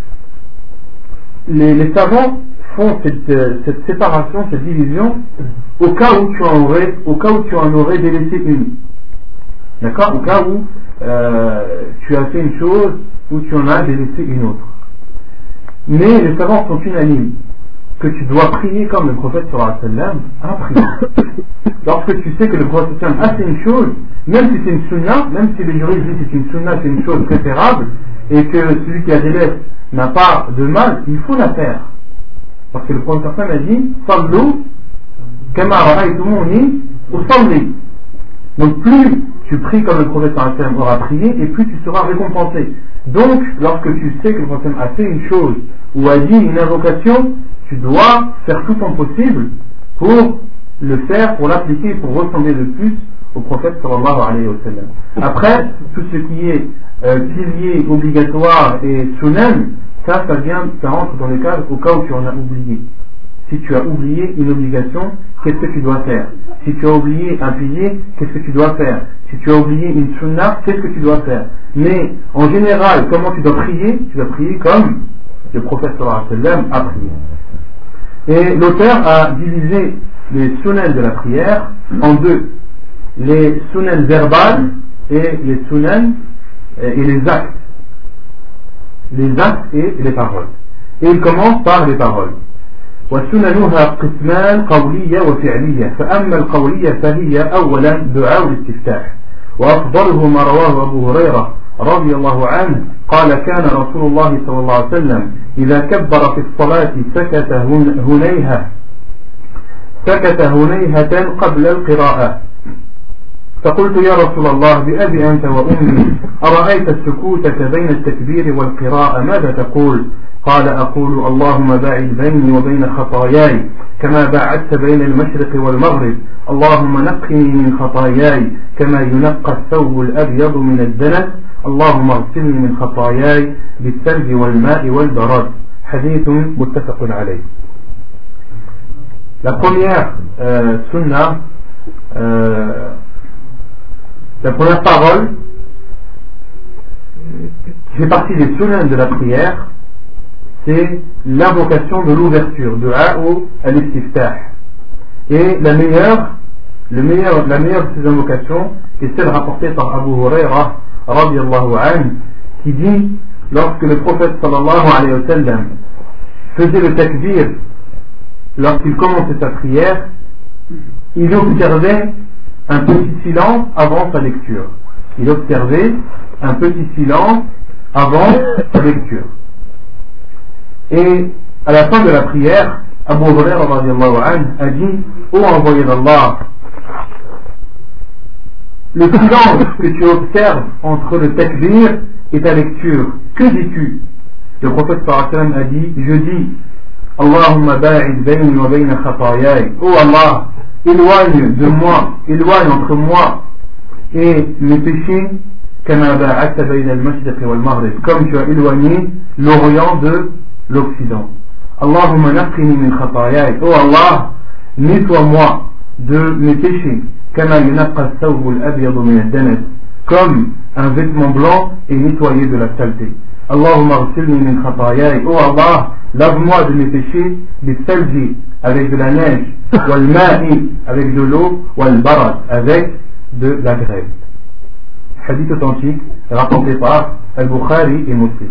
Speaker 1: les savants font cette séparation, cette division au cas où tu en aurais délaissé une. D'accord? Au cas où tu as fait une chose ou tu en as délaissé une autre. Mais les savants sont unanimes que tu dois prier comme le prophète sallallahu alayhi wa sallam a prié. Lorsque tu sais que le prophète sallallahu alayhi wa sallam a fait une chose, même si c'est une sunna, même si les juristes disent que c'est une sunna, c'est une chose préférable, et que celui qui la délaisse n'a pas de mal, il faut la faire. Parce que le prophète sallallahu alayhi wa sallam a dit Sallu kama ra'aytumuni usalli. Donc plus tu pries comme le prophète sallallahu alayhi wa sallam aura prié, et plus tu seras récompensé. Donc lorsque tu sais que le prophète sallallahu alayhi wa sallam a fait une chose ou a dit une invocation, tu dois faire tout ton possible pour le faire, pour l'appliquer, pour ressembler le plus au prophète sallallahu alayhi wa sallam. Après, tout ce qui est pilier, obligatoire et sunan, ça rentre dans le cadre au cas où tu en as oublié. Si tu as oublié une obligation, qu'est-ce que tu dois faire? Si tu as oublié un pilier, qu'est-ce que tu dois faire? Si tu as oublié une sunna, qu'est-ce que tu dois faire? Mais en général, comment tu dois prier? Tu dois prier comme le prophète sallallahu alayhi wa sallam a prié. Et l'auteur a divisé les sunnahs de la prière en deux. Les sunnahs verbales et les sunnahs et les actes. Les actes et les paroles. Et il commence par les paroles. وسننها قسمان قولية وفعلية فأما القولية فهي أولا دعاء الاستفتاح وأفضله ما رواه أبو هريرة رضي الله عنه قال كان رسول الله صلى الله عليه وسلم إذا كبر في الصلاة سكت هنيهة قبل القراءة فقلت يا رسول الله بأبي أنت وأمي أرأيت السكوتة بين التكبير والقراءة ماذا تقول؟ قال أقول اللهم باعد بيني وبين خطاياي كما باعدت بين المشرق والمغرب اللهم نقني من خطاياي كما ينقى الثوب الأبيض من الدنس اللهم اغسلني من خطاياي بالثلج والماء والبرد. حديث متفق عليه. La première sunna, la première parole qui fait partie des sunnahs de la prière, c'est l'invocation de l'ouverture, Du'a ou al-Istiftah. Et la meilleure de ces invocations est celle rapportée par Abu Huraira radiyallahu anhu, qui dit, lorsque le prophète sallallahu alayhi wa sallam faisait le takbir, lorsqu'il commençait sa prière, il observait un petit silence avant sa lecture. Il observait un petit silence avant sa lecture. Et à la fin de la prière, Abu Huraira radiyallahu anhu a dit: ô envoyé d'Allah, le silence que tu observes entre le takbir et ta lecture, que dis-tu? Le prophète sallallahu alayhi wa sallam a dit: je dis Allahumma ba'id bayni wa bayna khatayai. Oh Allah, éloigne entre moi et mes péchés, kama ba'adta bayna al-mashriq wal maghrib, comme tu as éloigné l'Orient de l'Occident. Allahumma naqqini min khatayai. Oh Allah, nettoie-moi de mes péchés, kama yunaqqa ath-thawb al-abyad min ad-danas, comme un vêtement blanc est nettoyé de la saleté. Allahumma ghsilni min khatayai. Oh Allah, lave-moi de mes péchés, des salji, avec de la neige, wal ma'i, avec de l'eau, wal barad, avec de la grêle. Hadith authentique rapporté par Al-Bukhari et Muslim.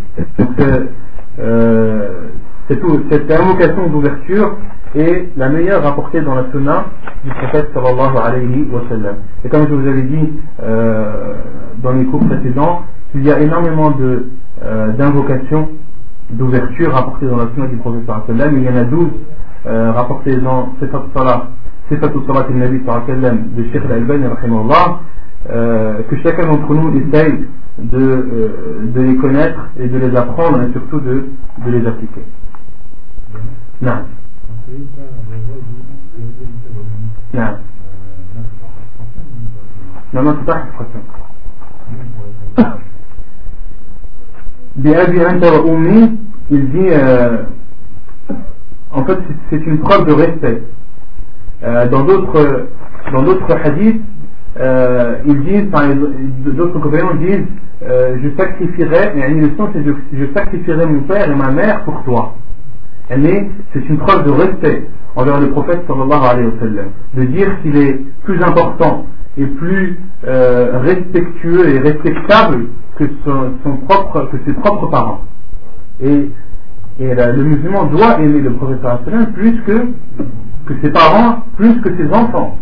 Speaker 1: Cette invocation d'ouverture est la meilleure rapportée dans la sunna du prophète sallallahu alayhi wa sallam. Et comme je vous avais dit dans les cours précédents, il y a énormément d'invocations d'ouverture rapportées dans la sunna du prophète sallallahu alayhi wa sallam. Il y en a 12 rapportées dans Sifatu Salat al-Nabi sallallahu alayhi wa sallam de Cheikh al-Albani rahimahullah, que chacun d'entre nous essaye de les connaître et de les apprendre et surtout de les appliquer. Non. Non. Non, c'est pas une Bi'abi anta wa ummi, il dit en fait c'est une preuve de respect. Dans d'autres hadiths, ils disent, d'autres compagnons disent, je sacrifierai, et le sens c'est je sacrifierai mon père et ma mère pour toi. Mais c'est une preuve de respect envers le prophète sallallahu alayhi wa sallam, de dire qu'il est plus important et plus respectueux et respectable que ses propres parents. Et le musulman doit aimer le prophète sallallahu alayhi wa sallam plus que ses parents, plus que ses enfants.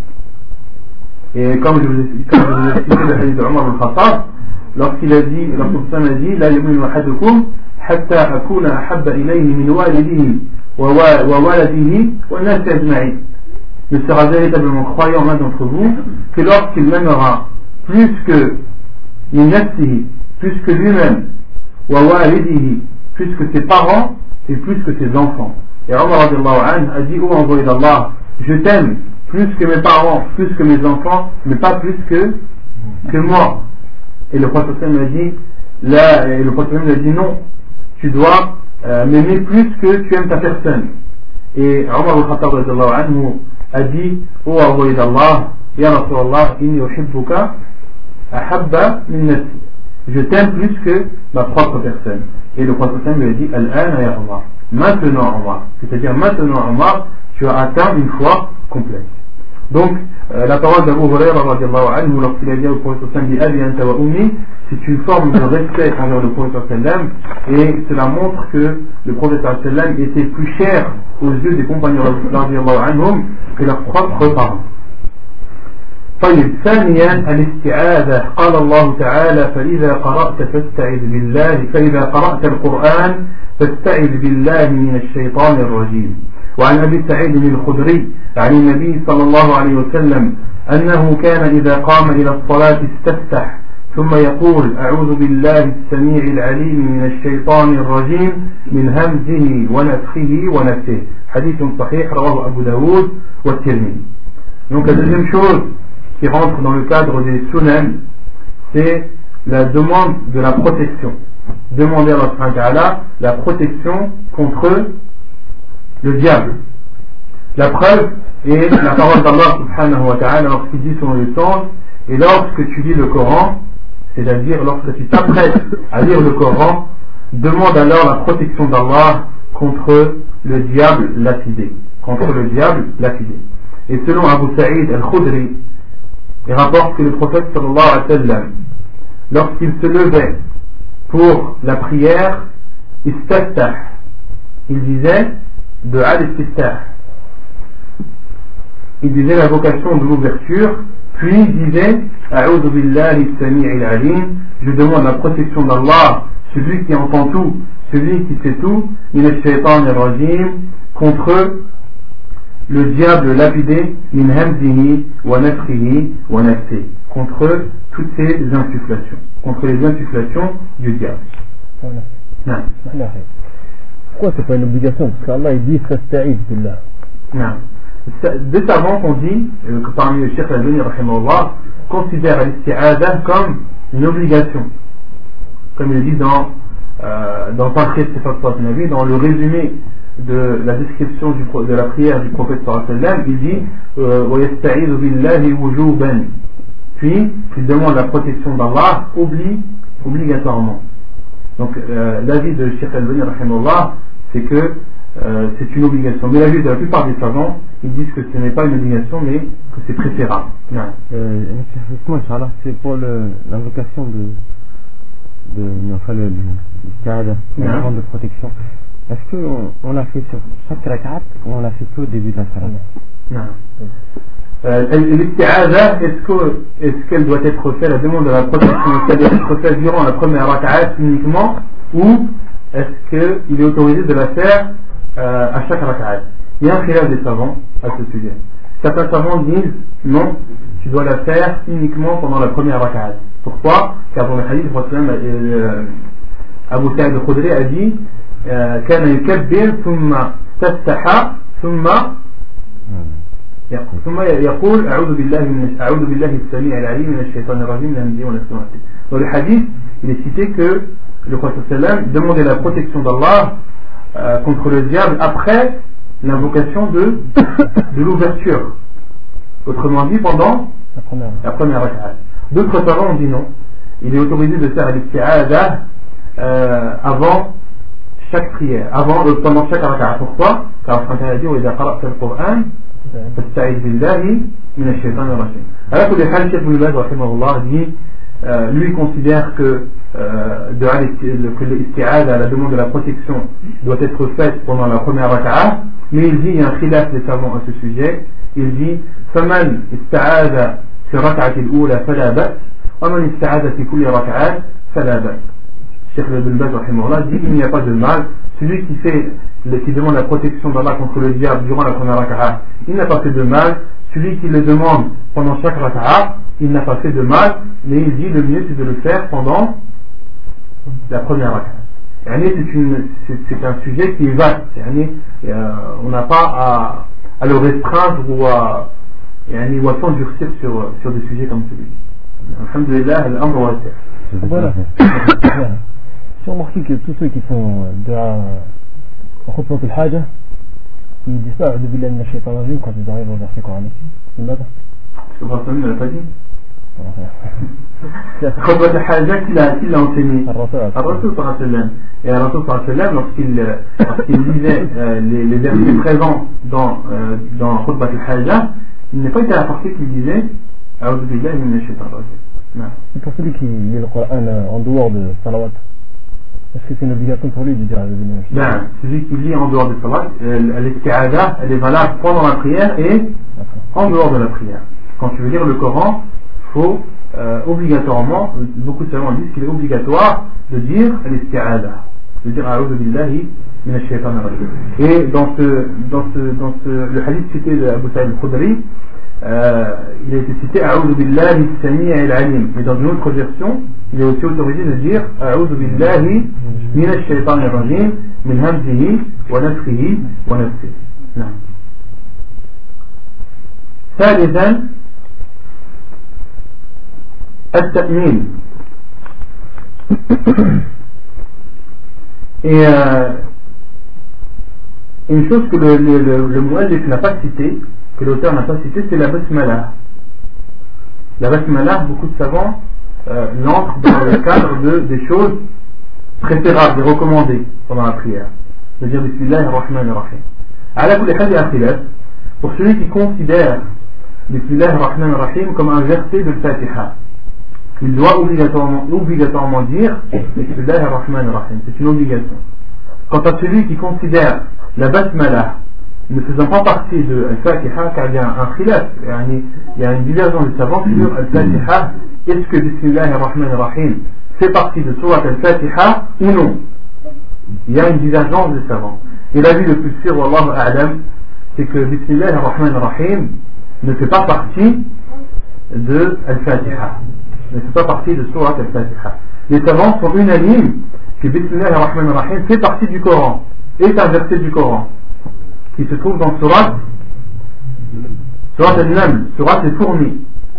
Speaker 1: Et comme je vous ai expliqué le hadith de Omar al-Khattab, lorsqu'il a dit, la yu'minu ahadukum hatta akuna ahabba ilayhi min walidihi wa waladihi wa nas ajma'in. Ne sera véritablement croyant l'un d'entre vous que lorsqu'il m'aimera plus que min nafsihi, plus que lui-même, wa walidihi, plus que ses parents et plus que ses enfants. Et Omar radiyallahu anhu a dit: ô envoyé d'Allah, je t'aime plus que mes parents, plus que mes enfants, mais pas plus que moi. Et le prophète m'a dit non, tu dois m'aimer plus que tu aimes ta personne. Et Omar al-Khattab radiyallahu anhu a dit: ô envoyé d'Allah, ya Rasulallah, inni uhibbuka ahabba min nafsi, je t'aime plus que ma propre personne. Et le prophète lui a dit: al-ana ya Omar, maintenant Omar, c'est-à-dire maintenant Omar, tu as atteint une foi complète. Donc la parole d'Abu Huraira radiyallahu anhu lorsqu'il a dit au prophète Abi anta wa ummi, c'est une forme de respect envers le prophète sallam, et cela montre que le prophète sallam était plus cher aux yeux des compagnons radiyallahu anhum que leurs propres parents. طيب ثانيا الاستعاذة. قال الله تعالى: فإذا قرأت القرآن فاستعذ بالله من الشيطان الرجيم. وعن أبي سعيد الخدري عن النبي صلى الله عليه وسلم أنه كان إذا قام إلى الصلاة استفتح ثم يقول: أعوذ بالله السميع العليم من الشيطان الرجيم من همزه ونفخه ونفثه. حديث صحيح رواه أبو داود والترمذي. Donc la deuxième chose qui rentre dans le cadre des sunan, c'est la demande de la protection. Demander à Allah subhanahu wa ta'ala la protection contre le diable. La preuve est la parole d'Allah subhanahu wa ta'ala lorsqu'il dit selon le sens: et lorsque tu lis le Coran, c'est-à-dire lorsque tu t'apprêtes à lire le Coran, demande alors la protection d'Allah contre le diable lapidé. Et selon Abu Sa'id al-Khudri, il rapporte que le prophète sallallahu alayhi wa sallam, lorsqu'il se levait pour la prière, istaftah, il disait du'a l'istiftah. Il disait la vocation de l'ouverture, puis il disait a'udhu billahi as-sami'il 'alim, je demande la protection d'Allah, celui qui entend tout, celui qui sait tout, min ash-shaytanir rajim, contre le diable lapidé, min hamzihi wa nafthihi wa nafsihi, contre toutes ces insufflations, contre les insufflations du diable.
Speaker 3: Non. Pourquoi c'est pas une obligation? Parce qu'Allah il dit fasta'id billah.
Speaker 1: Non. Des savants ont dit que parmi les Cheikh Al-Albani rahimahullah considèrent l'isti'adah comme une obligation, comme il dit dans Tafsir Sifat Nabi, dans le résumé de la description de la prière du prophète sallallahu alayhi wa sallam, il dit wa yasta'idhu billahi wujuban, puis il demande la protection d'Allah obligatoirement. Donc l'avis de Cheikh Al-Albani rahimahullah, c'est que c'est une obligation, mais l'avis de la plupart des savants, ils disent que ce n'est pas une obligation mais que c'est préférable.
Speaker 3: Justement, Inch'Allah, c'est pour l'invocation de l'isti'adah, la demande de protection. Est-ce qu'on l'a fait sur chaque rakat ou on l'a fait que au début de la salat?
Speaker 1: Non. L'isti'adah, est-ce qu'elle doit être faite, la demande de la protection, est-ce qu'elle doit être faite durant la première rakat uniquement, ou est-ce qu'il est autorisé de la faire à chaque rakat? Il y a un khilaf des savants à ce sujet. Certains savants disent non, tu dois la faire uniquement pendant la première rakat. Pourquoi? Car dans le hadith, Abu Sa'id al-Khudri a dit كان يكبر ثم تفتح ثم يقول أعوذ بالله السميع العليم من الشيطان الرجيم من همزه ونفخه ونفثه. Dans le hadith, il est cité que le prophète sallam demandait la protection d'Allah contre le diable après l'invocation de l'ouverture. Autrement dit, pendant la première rak'ah. D'autres savants ont dit non. Il est autorisé de faire l'isti'adah avant chaque prière, pendant chaque rak'ah. Pourquoi? Car le a dit وإذا قرأت القرآن فاستعذ بالله من الشيطان الرجيم. Alors que le Cheikh Ibn Baz rahimahullah dit, lui considère que l'isti'adah, la demande de la protection, doit être faite pendant la première rak'ah, mais il dit, il y a un khilaf des savants à ce sujet, il dit فمن استعاذ في الركعة الأولى فلا بأس ومن استعاذ في كل ركعات فلا بأس. Cheikh Ibn Baz rahimahullah dit il n'y a pas de mal, celui qui demande la protection d'Allah contre le diable durant la première rak'ah, il n'a pas fait de mal, celui qui le demande pendant chaque rak'ah, il n'a pas fait de mal, mais il dit le mieux c'est de le faire pendant la première rak'ah. C'est un sujet qui est vaste, on n'a pas à le restreindre ou à s'endurcir sur des sujets comme celui-ci. Alhamdulillah, al-amr wasi'.
Speaker 3: Voilà. J'ai remarqué que tous ceux qui font de la khutbah al-haja, ils disent ça, a'udhu billahi minash shaytanir rajim, quand ils arrivent au verset coranique. C'est mal.
Speaker 1: Parce que le prophète ne l'a pas dit. Khutbah al-haja, qui l'a enseigné? Ar-Rasul sallallahu alayhi wa sallam. Et Ar-Rasul sallallahu alayhi wa sallam, lorsqu'il lisait les versets présents dans khutbah al-haja, il n'est pas été apporté qu'il disait a'udhu billahi minash shaytanir rajim.
Speaker 3: Et pour celui qui lit le Coran en dehors de salawat, est-ce que c'est une obligation pour lui de dire
Speaker 1: celui qui lit en dehors de salat, l'isti'adah, elle est valable pendant la prière et en dehors de la prière. Quand tu veux lire le Coran, il faut obligatoirement, beaucoup de savants disent qu'il est obligatoire de dire l'isti'adah, de dire a'udhu billahi minash shaytanir rajim. Et dans le hadith cité de Abu Sa'id al-Khudri, il a été cité A'udhu billahi as-sami'il 'alim, mais dans une autre version il est aussi autorisé de dire A'udhu billahi minash shaytanir rajim min hamzihi wa nafthihi wa nafsihi. نعم. ثالثا التأمين. Et une chose que le mu'allif n'a pas cité, que l'auteur n'a pas cité, c'est la basmala. La basmala, beaucoup de savants l'entrent dans le cadre des choses préférable et recommandé pendant la prière de dire Bismillah ar-Rahman ar-Rahim. Ala kulli hal, il y a un khilaf pour celui qui considère Bismillah ar-Rahman ar-Rahim comme un verset de Fatiha. Il doit obligatoirement dire Bismillah ar-Rahman ar-Rahim. C'est une obligation. Quant à celui qui considère la Basmala ne faisant pas partie de Al-Fatiha, car il y a un khilaf, il y a une divergence de savants sur Al-Fatiha, est-ce que Bismillah ar-Rahman ar-Rahim fait partie de Surat Al-Fatiha ou non? Il y a une divergence de savants. Et l'avis le plus sûr, Wallahu a'lam, c'est que Bismillah ar-Rahman ar-Rahim ne fait pas partie de Al-Fatiha, ne fait pas partie de Surat Al-Fatiha. Les savants sont unanimes que Bismillah ar-Rahman ar-Rahim fait partie du Coran, est un verset du Coran qui se trouve dans Surat Al-Naml, Surat al-Fourmis.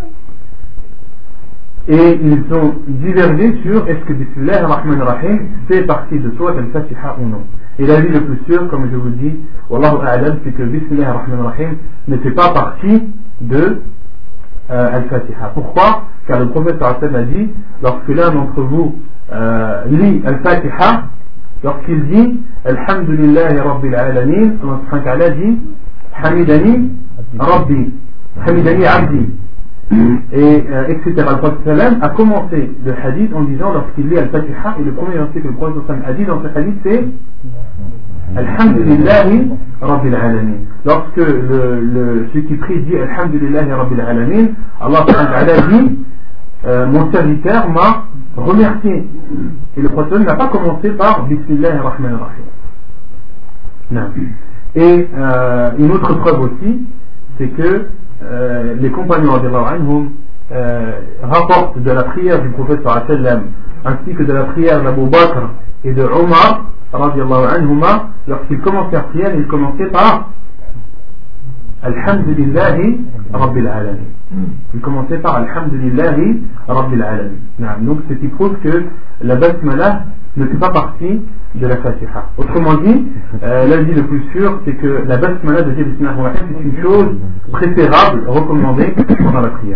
Speaker 1: Et ils ont divergé sur est-ce que Bismillah ar-Rahman ar-Rahim fait partie de Surat al-Fatiha ou non. Et l'avis le plus sûr, comme je vous dis, Wallahu a'lam, c'est que Bismillah ar-Rahman ar-Rahim ne fait pas partie de Al-Fatiha. Pourquoi? Car le prophète sallallahu alayhi wa sallam a dit, lorsque l'un d'entre vous lit Al-Fatiha, lorsqu'il dit Alhamdulillahi Rabbil Alamin, Allah subhanahu wa ta'ala dit Hamidani Rabbi, Hamidani Abdi, et etc. Le prophète sallam a commencé le hadith en disant, lorsqu'il lit Al-Fatiha, et le premier verset que le prophète sallam a dit dans ce hadith, c'est Alhamdulillahi Rabbil Alamin. Lorsque celui qui prie dit Alhamdulillahi Rabbil Alamin, Allah subhanahu wa ta'ala dit mon serviteur m'a remercié. Et le prophète n'a pas commencé par Bismillah ar-Rahman ar-Rahim. Et une autre preuve aussi, c'est que les compagnons rapportent de la prière du prophète sallallahu alayhi wa sallam, ainsi que de la prière d'Abu Bakr et de Omar radiallahu anhuma, lorsqu'ils commençaient la prière, ils commençaient par Alhamdulillahi Rabbil Alamin. Ils commençaient par Alhamdulillahi Rabbil Alamin. Donc ce qui prouve que la Basmala ne fait pas partie de la Fatiha. Autrement dit, l'avis le plus sûr, c'est que la Basmala de Bismillah ar-Rahman c'est une chose préférable, recommandée pendant la prière.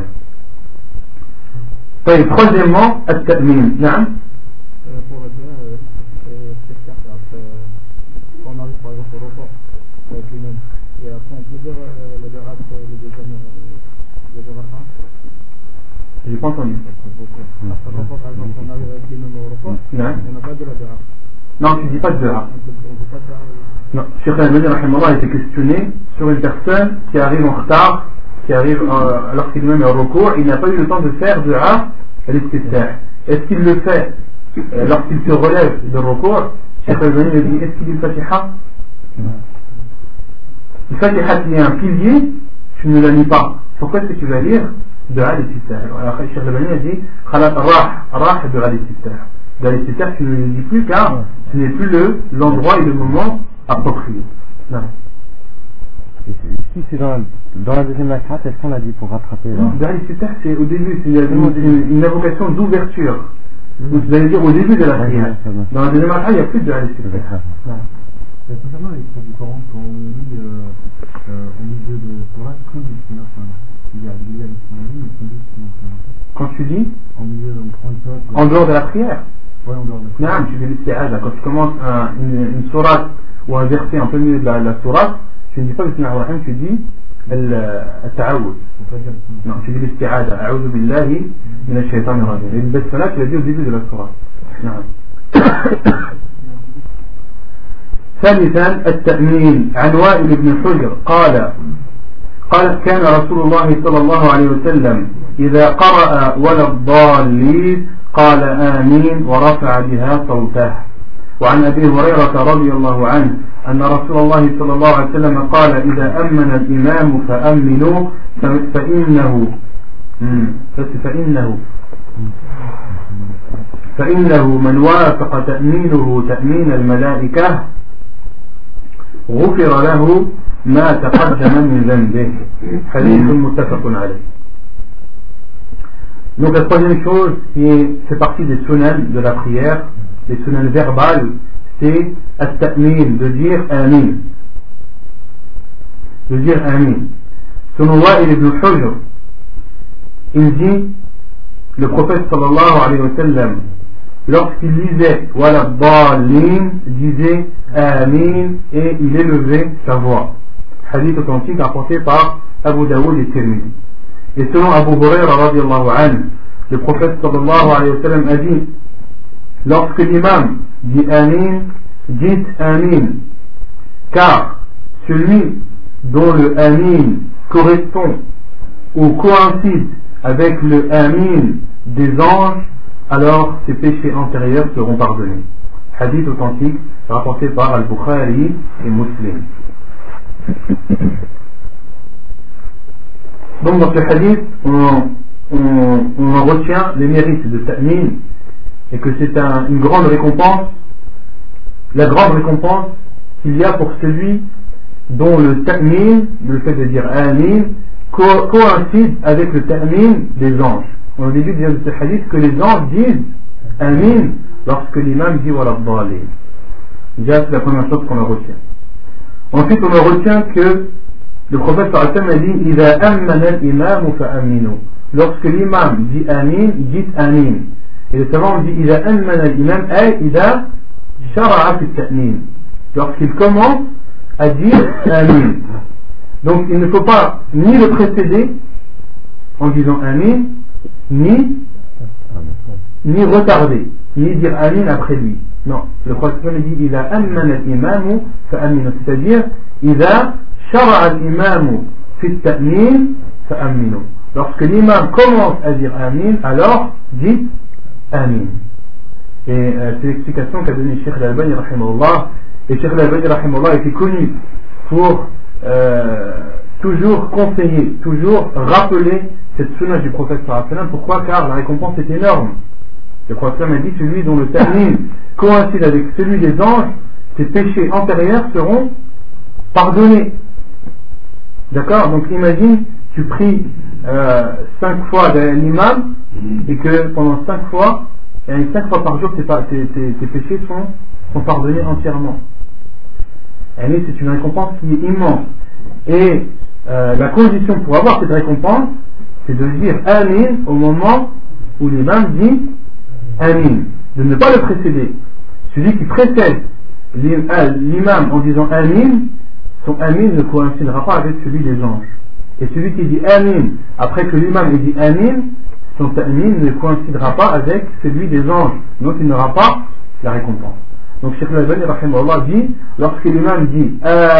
Speaker 1: Et troisièmement, At-Ta'min.
Speaker 4: Pour la prière, c'est certes, après, quand on arrive par exemple au repos avec l'imam, et après on peut dire le deuxième raka'a.
Speaker 1: J'ai pas entendu.
Speaker 4: Après le repos, par exemple, on arrive avec l'imam au repos, on n'a pas de la deuxième.
Speaker 1: Non, tu dis pas de dehors. Non, Cheikh Al-Albani rahimahullah a été questionné sur une personne qui arrive en retard, qui arrive lorsqu'il même est au recours, il n'a pas eu le temps de faire dua al-istiftah. Est-ce qu'il le fait lorsqu'il se relève de recours? Cheikh Al-Albani lui dit, est-ce qu'il dit Fatiha? Le Fatiha qui est un pilier, tu ne la lis pas. Pourquoi est-ce que tu vas lire dua al-istiftah? Alors Cheikh Al-Albani a dit, rah dua al-istiftah. Dans les critères, tu ne le dis plus car ce n'est plus l'endroit et le moment approprié. Non.
Speaker 3: Ici, c'est dans la deuxième rak'at, est-ce qu'on l'a dit pour rattraper?
Speaker 1: Dans les critères, c'est au début, c'est une invocation d'ouverture. Vous allez dire au début de la prière. Dans la deuxième rak'at, il n'y a plus de les critères.
Speaker 5: Concernant les cours du Coran, quand on lit au milieu de Torah, il y a
Speaker 1: quand tu lis
Speaker 5: en milieu,
Speaker 1: en dehors de la prière.
Speaker 5: Oui, en dehors de la prière.
Speaker 1: Non, tu fais l'isti'aza. Quand tu commences une sourate ou un verset en plein milieu de la sourate, tu ne dis pas Bismillah ar-Rahman, tu dis al-ta'awud. Non, tu dis l'isti'aza. A'udhu billahi min ash-shaytan ar-rajim. Et le basmala, tu l'as dit au début de la sourate. Non. ثالثا التأمين. عن وائل بن حجر قال كان رسول الله صلى الله عليه وسلم إذا قرأ ولا الضالين قال آمين ورفع بها صوته. وعن أبي هريرة رضي الله عنه أن رسول الله صلى الله عليه وسلم قال إذا أمن الإمام فأمنوا فإنه من وافق تأمينه تأمين الملائكة غفر له ما تقدم من ذنبه. حديث متفق عليه. Donc la troisième chose qui fait partie des sunan de la prière, les sunan verbales, c'est at-ta'min, de dire amin. De dire amin. Selon Wa'il ibn Hujr, il dit, le prophète sallallahu alayhi wa sallam lorsqu'il lisait Wala Dallin, disait Amin et il élevait sa voix. Hadith authentique rapporté par Abu Daoud et Tirmidhi. Et selon Abu Huraira radiallahu anhu, le prophète sallallahu alayhi wa sallam a dit, lorsque l'imam dit Amin, dites Amin, car celui dont le Amin correspond ou coïncide avec le Amin des anges, alors ses péchés antérieurs seront pardonnés. Hadith authentique rapporté par Al-Bukhari et Muslim. Donc dans ce hadith, on en retient les mérites de Ta'min et que c'est une grande récompense, la grande récompense qu'il y a pour celui dont le Ta'min, le fait de dire Amin, coïncide avec le Ta'min des anges. On a dit dans ce hadith que les anges disent Amin lorsque l'imam dit Wala Dallin. Déjà c'est la première chose qu'on en retient. Ensuite on en retient que le prophète sallallahu alayhi wa sallam a dit Iza ammana al-imam fa'aminu. Lorsque l'imam dit Amin, dites Amin. Et le savant dit Iza ammana al-imam ay Iza shara'a fi ta'min. Lorsqu'il commence à dire Amin. Donc il ne faut pas ni le précéder en disant Amin, ni retarder, ni dire Amin après lui. Non, le prophète dit Iza ammana al-imam fa'aminu. C'est-à-dire Iza shara'a al-imam fi ta'min fa'aminu. Lorsque l'imam commence à dire Amin, alors dites Amin. Et c'est l'explication qu'a donnée Cheikh Al-Albani rahimahullah. Et Cheikh Al-Albani rahimahullah était connu pour toujours conseiller, toujours rappeler cette sunna du prophète sallallahu alayhi wa sallam. Pourquoi? Car la récompense est énorme. Le prophète a dit celui dont le ta'min coïncide avec celui des anges, ses péchés antérieurs seront pardonnés. D'accord? Donc imagine, tu pries 5 fois derrière l'imam et que pendant 5 fois par jour tes péchés sont pardonnés entièrement. Et c'est une récompense qui est immense. Et la condition pour avoir cette récompense, c'est de dire Amin au moment où l'imam dit Amin, de ne pas le précéder. Celui qui précède l'imam en disant Amin, son Amin ne coïncidera pas avec celui des anges. Et celui qui dit Amin après que l'imam ait dit Amin, son Amin ne coïncidera pas avec celui des anges, donc il n'aura pas la récompense. Donc Cheikh Al-Albani rahimahullah dit, lorsque l'imam dit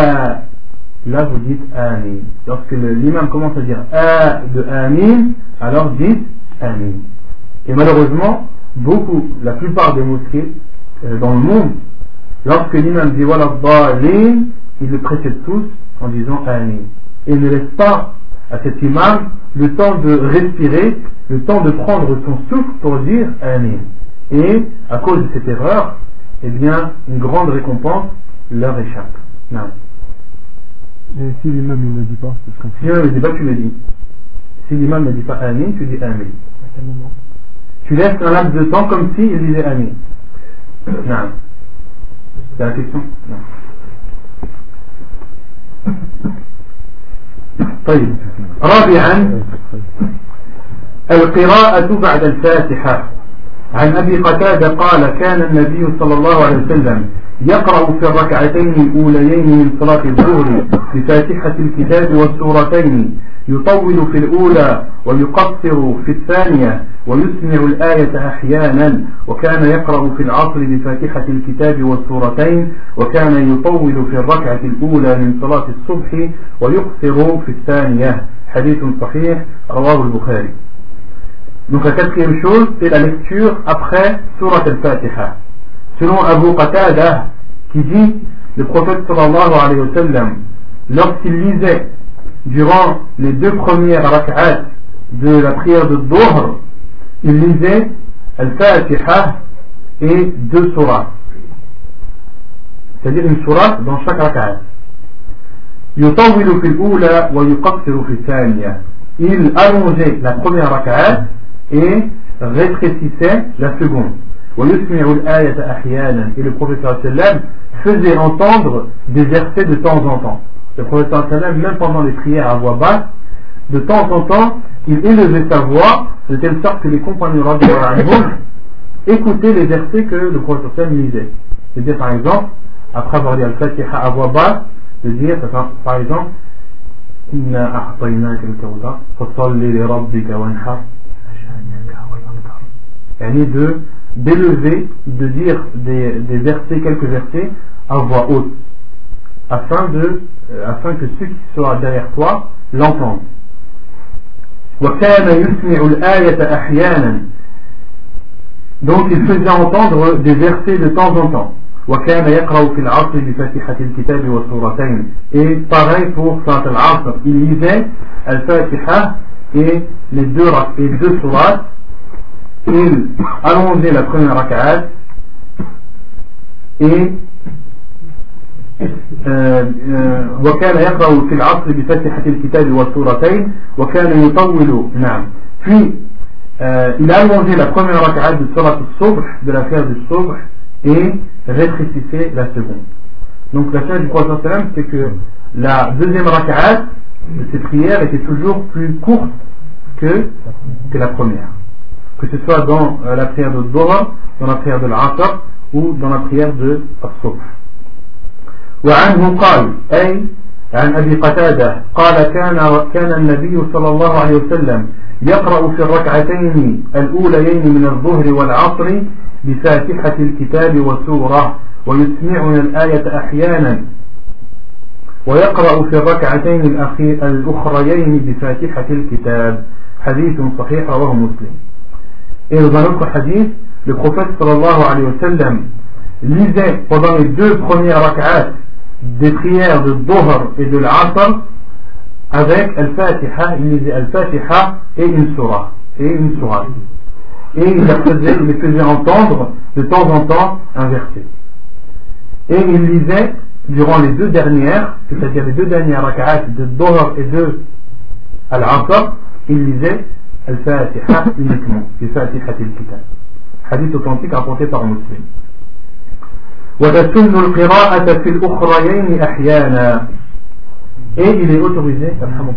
Speaker 1: là vous dites Amin. Lorsque l'imam commence à dire de Amin, alors dites Amin. Et malheureusement, la plupart des mosquées dans le monde, lorsque l'imam dit Wala Dallin, ils le précèdent tous en disant Amin. Et ne laisse pas à cet imam le temps de respirer, le temps de prendre son souffle pour dire Amin. Et à cause de cette erreur, eh bien, une grande récompense leur échappe. Non.
Speaker 2: Et si l'imam ne le dit pas, ce serait...
Speaker 1: Si l'imam ne le dit pas, tu le dis. Si l'imam ne dit pas Amin, tu dis Amin.
Speaker 4: À quel moment?
Speaker 1: Tu laisses un laps de temps comme s'il disait Amin. Non. C'est la question? Non. طيب رابعا القراءة بعد الفاتحة. عن أبي قتادة قال كان النبي صلى الله عليه وسلم يقرأ في الركعتين الأوليين من صلاة الظهر بفاتحة الكتاب والسورتين، يطول في الأولى ويقصر في الثانية ويسمع الآية أحيانا، وكان يقرأ في العصر بفاتحة الكتاب والسورتين، وكان يطول في الركعة الأولى من صلاة الصبح ويقصر في الثانية. حديث صحيح رواه البخاري. Donc la quatrième chose, c'est la lecture après Surat al-Fatiha. Selon Abu Qatada, qui dit, le prophète sallallahu alayhi wa sallam, lorsqu'il lisait durant les 2 premières rak'at de la prière de Dhuhr, il lisait al-Fatiha et 2 surahs. C'est-à-dire une surah dans chaque rak'at. يطول في الأولى ويقصر في الثانية. Il allongeait la première rak'at et rétrécissait la seconde. Et le prophète sallam faisait entendre des versets de temps en temps. Le prophète sallam, même pendant les prières à voix basse, de temps en temps, il élevait sa voix de telle sorte que les compagnons écouter les versets que le prophète lisait. C'est-à-dire par exemple, après avoir dit Al-Fatiha à voix basse, de dire par exemple Inna a'tainaka al-kawthar fasalli li rabbika wanhar, d'élever, de dire des versets, quelques versets à voix haute, afin que ceux qui sont derrière toi l'entendent. وكان يسمع الآية أحيانا, donc il faisait entendre des versets de temps en temps. وكان يقرأ في العصر بفاتحة الكتاب والسورتين, et pareil pour Salat al-Asr, il lisait al-Fatiha et les deux sourates. Il allongeait la première rak'at et وكان يقرأ في العصر بفتحة الكتاب والسورتين وكان يطول. نعم. Puis il allongeait la première rak'at de Salat al-Subh, de la prière du Subh, et rétrécissait la seconde. Donc la fin du prophète sallam, c'est que la deuxième rak'at de ces prières était toujours plus courte que la première, que ce soit dans la prière de Dhuhr, dans la prière de l'Asr ou dans la prière de As-Subh. وعنه قال أي عن أبي قتادة قال كان النبي صلى الله عليه وسلم يقرأ في الركعتين الأوليين من الظهر والعصر بفاتحة الكتاب والسورة ويسمعنا الآية أحيانا ويقرأ في الركعتين الأخريين بفاتحة الكتاب. حديث صحيح رواه مسلم. Et dans un autre hadith, le prophète sallallahu alayhi wa sallam lisait pendant les deux premières rak'at des prières de Dhuhr et de l'Asr avec Al-Fatiha. Il lisait Al-Fatiha et une surah. Et il les faisait entendre de temps en temps un verset. Et il lisait durant les deux dernières, c'est-à-dire les deux dernières rak'at de Dhuhr et de Al-Asr, il lisait Al-Fatiha uniquement, Al-Fatiha al-Kitab. Hadith authentique rapporté par Muslim. وَتَسُنُّ الْقِرَاءَةَ فِي الْأُخْرَيَيْنِ أَحْيَانًا. Et il est autorisé,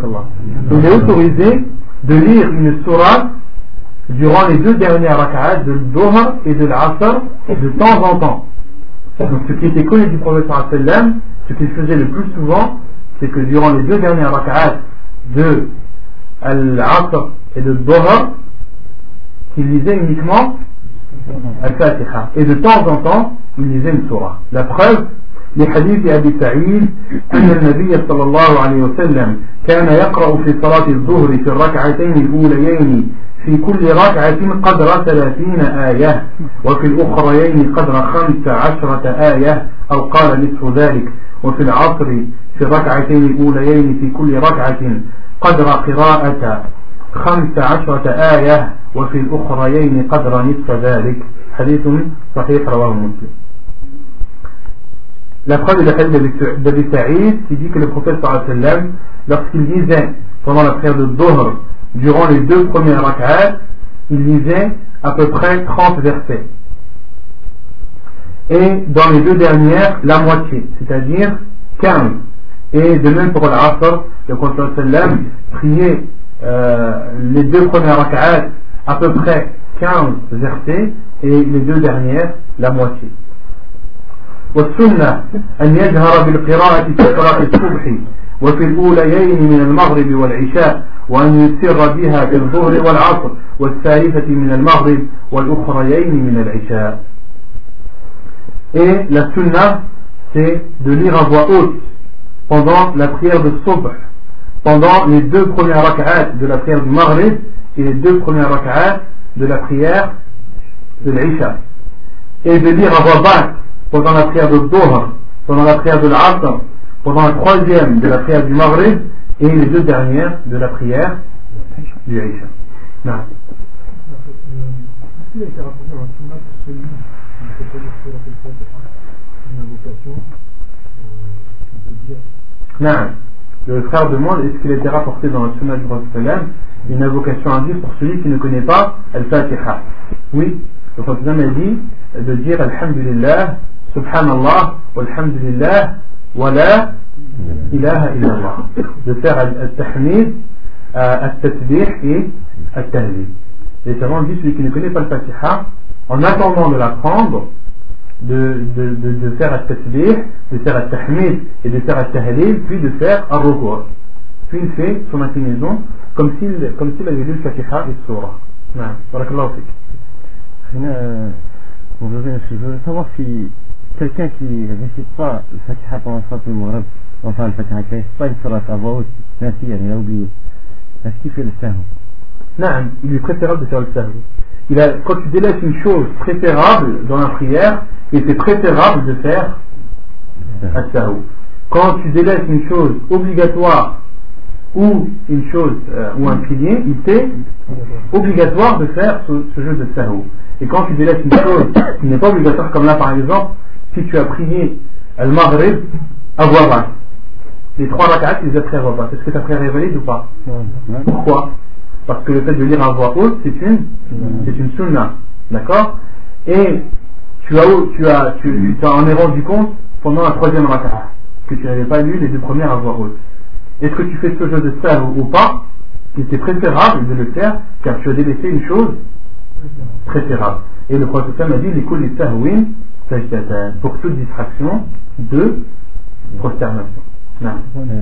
Speaker 1: de lire une sourate durant les deux dernières rak'at de Dhuhr et de l'Asr de temps en temps. Donc ce qui était connu du prophète sallallahu alayhi wa sallam, ce qu'il faisait le plus souvent, c'est que durant les deux dernières rak'at de Al-Asr et de Dhuhr, qu'il lisait uniquement Al-Fatiha. Et de temps en temps, il lisait une surah. La preuve, les hadiths d'Abi Sa'id, أن النبي صلى الله عليه وسلم كان يقرأ في صلاة الظهر في الركعتين الأوليين في كل ركعة قدر 30 آية وفي الأخريين قدر 15 آية أو قال نصف ذلك وفي العصر في الركعتين الأوليين في كل ركعة قدر قراءة 15 آية وفي الأخريين قدر نصف ذلك. حديث صحيح رواه مسلم. La preuve de la hadith d'Abi Sa'id qui dit que le prophète sallallahu alayhi wa sallam, lorsqu'il lisait pendant la prière de Dhuhr, durant les deux premières rak'at, il lisait à peu près 30 versets. Et dans les deux dernières, la moitié, c'est-à-dire 15. Et de même pour l'Asr, le prophète sallallahu alayhi wa sallam priait les deux premières rak'at à peu près 15 versets et les deux dernières la moitié. والسنة أن يجهر بالقراءة في صلاة الصبح وفي الأوليين من المغرب والعشاء وأن يسر بها في الظهر والعصر والثالثة من المغرب والأخريين من العشاء. Et la sunna, c'est de lire à voix haute pendant la prière de Subh, pendant les deux premières rak'at de la prière du Maghrib et les deux premières rak'at de la prière de l'Isha, et de lire à voix basse pendant la prière de Dhuhr, pendant la prière de l'Asr, pendant la troisième de la prière du Maghrib et les deux dernières de la prière du Isha. Non.
Speaker 5: Est-ce qu'il a été rapporté dans la sunna pour celui qui ne fait pas le sur une invocation, on peut dire.
Speaker 1: Non. Le frère demande est-ce qu'il a été rapporté dans la sunna du prophète sallam une invocation à dire pour celui qui ne connaît pas Al-Fatiha. Oui, le prophète sallam a dit de dire Alhamdulillah, Subhanallah, Walhamdulillah, wa la ilaha illallah. De faire Al-Tahmid, Al-Tasbih et Al-Tahlil. Les savants disent celui qui ne connaît pas Al-Fatiha, en attendant de l'apprendre, de faire al-tasbih, de faire al-tahmid et de faire al-tahlil, puis de faire al-ruku'. Puis il fait son inclinaison comme s'il avait lu le Fatiha et le Surah. Barakallahu fik.
Speaker 3: Je veux savoir si quelqu'un qui ne récite pas le Fatiha pendant le Maghrib, enfin le Fatiha, qui ne récite pas une Surah à voix haute, merci, il a oublié. Est-ce qu'il fait le sahou?
Speaker 1: Non, il est préférable de faire le sahou. Quand tu délaisses une chose préférable dans la prière, il est préférable de faire le sahou. Quand tu délaisses une chose obligatoire ou une chose ou un pilier, il est obligatoire de faire ce jeu de sahou. Et quand tu délaisses une chose qui n'est pas obligatoire, comme là par exemple, si tu as prié al-Maghrib à voix basse, les 3 rak'at, tu les as pris à voix basse, est-ce que ta prière est valide ou pas? Pourquoi? Parce que le fait de lire à voix haute, c'est une sunna, d'accord? Et tu t'en es rendu compte pendant la 3e rak'at que tu n'avais pas lu les 2 premières à voix haute. Est-ce que tu fais ce jeu de sahou ou pas? Il était préférable de le faire car tu as délaissé une chose préférable. Et le prophète m'a dit l'écoute des sahouin pour toute distraction de prosternation. Non.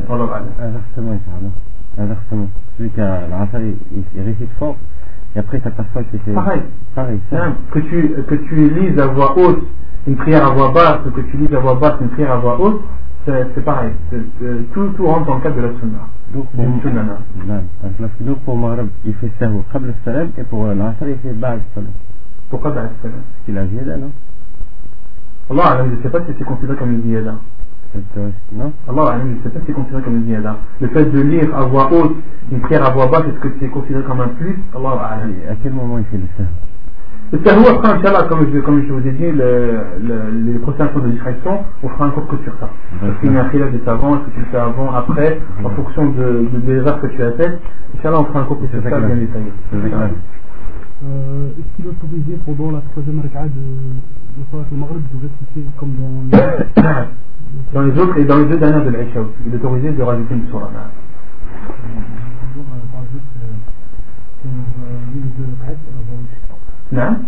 Speaker 3: Inversement. Celui qui a l'asar, il récite fort et après ça t'aperçoit que c'est
Speaker 1: pareil.
Speaker 3: Ça.
Speaker 1: Que tu lises à voix haute une prière à voix basse ou que tu lises à voix basse une prière à voix haute, c'est pareil. Tout rentre dans le cadre de la sunna.
Speaker 3: Donc pour Maghrib, il fait sahou qabl al-salam et pour l'asar, il fait ba'd al-salam.
Speaker 1: Pourquoi ba'd al-salam?
Speaker 3: Il a ziyada, non?
Speaker 1: Allah, je ne sais pas si c'est considéré comme une ziyada.
Speaker 3: Non?
Speaker 1: Allah, je ne sais pas si c'est considéré comme une ziyada. Le fait de lire à voix haute une prière à voix basse, est-ce que c'est considéré comme un plus? Allah,
Speaker 3: à quel moment il fait le sahou?
Speaker 1: Le sahou, après, Inch'Allah, comme je vous ai dit, les prochaines choses de distraction, on fera un cours que sur ça. Parce qu'il y a un khilaf des savants, est-ce que tu le fais avant, après, en fonction des erreurs que tu as faites. Inch'Allah, on fera un cours que sur ça bien détaillé.
Speaker 2: Est-ce qu'il est autorisé pendant la 3e rak'a de Salat al-Maghrib de réciter comme
Speaker 1: dans les autres et dans les 2 dernières de l'Aïcha aussi, il est autorisé de rajouter une surah. Non?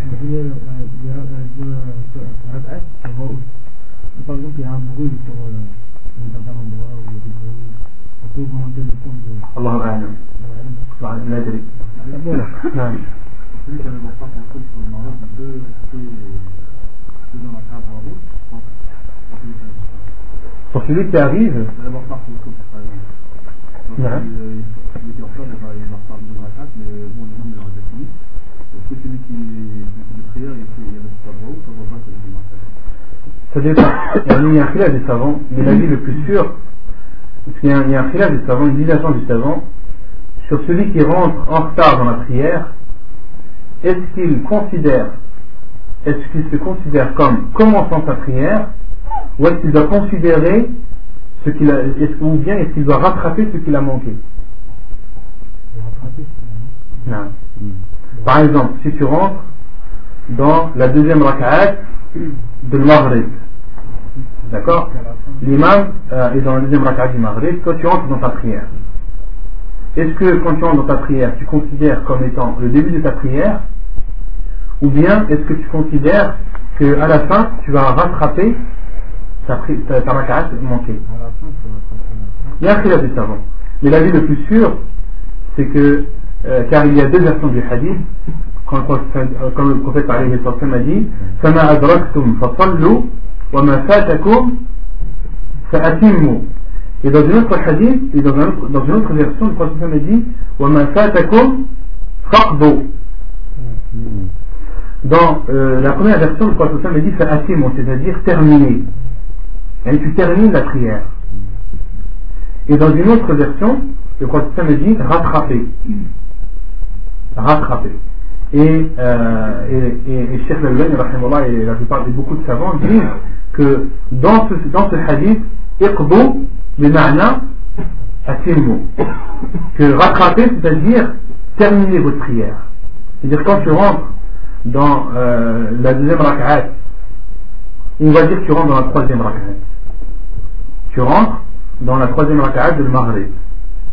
Speaker 4: Par exemple, il y a un bruit sur un certain endroit où il y a des bruits, on peut augmenter le son de...
Speaker 1: Allah a'lam. La adri. Non.
Speaker 5: Celui qui avait pas compris sur le mariage, il peut dans la carte en route, je pense.
Speaker 1: Pour celui qui arrive,
Speaker 5: il va pas pour le coup, par exemple. Il était en fleur, il va pas de la carte, mais bon, le nom il aura déjà fini. Est-ce que celui qui de prière, il reste pas droit ou ça va pas celui qui marche?
Speaker 1: ça dépend. Il y a un khilaf des savants, mais l'avis le plus sûr, il y a un khilaf des savants, une division des savants, sur celui qui rentre en retard dans la prière. Est-ce qu'il se considère comme commençant sa prière, ou est-ce qu'il doit considérer ce qu'il a, ou bien est-ce qu'il doit rattraper ce qu'il a manqué? Non. Par exemple, si tu rentres dans la 2e rak'at de Maghrib, d'accord? L'imam est dans la 2e rak'at du Maghrib, toi tu entres dans ta prière. Est-ce que quand tu entres dans ta prière, tu considères comme étant le début de ta prière, ou bien est-ce que tu considères qu'à la fin tu vas rattraper ta rak'at manquée? Il y a un khilaf des savants, mais l'avis le plus sûr c'est que car il y a 2 versions du hadith, comme le prophète alayhi sallam a dit فَمَا أَدْرَكْتُمْ فَصَلُّوا وَمَا فَاتَكُمْ فَأَتِمُّوا. Et dans une autre hadith, et dans une autre version, le prophète a dit وَمَا فَاتَكُمْ فَقْضُوا. Dans la première version, le prophète a dit فَأَتِمُّوا, c'est-à-dire terminer. Et tu termines la prière. Et dans une autre version, le prophète a dit rattraper. Et Cheikh Al-Albani rahimahullah et la plupart de beaucoup de savants disent que dans ce hadith iqbu bima'na atimmu, que rattraper c'est-à-dire terminer votre prière. C'est-à-dire quand tu rentres dans la 2e rak'at, on va dire que tu rentres dans la 3e rak'at, tu rentres dans la 3e rak'at de Maghrib,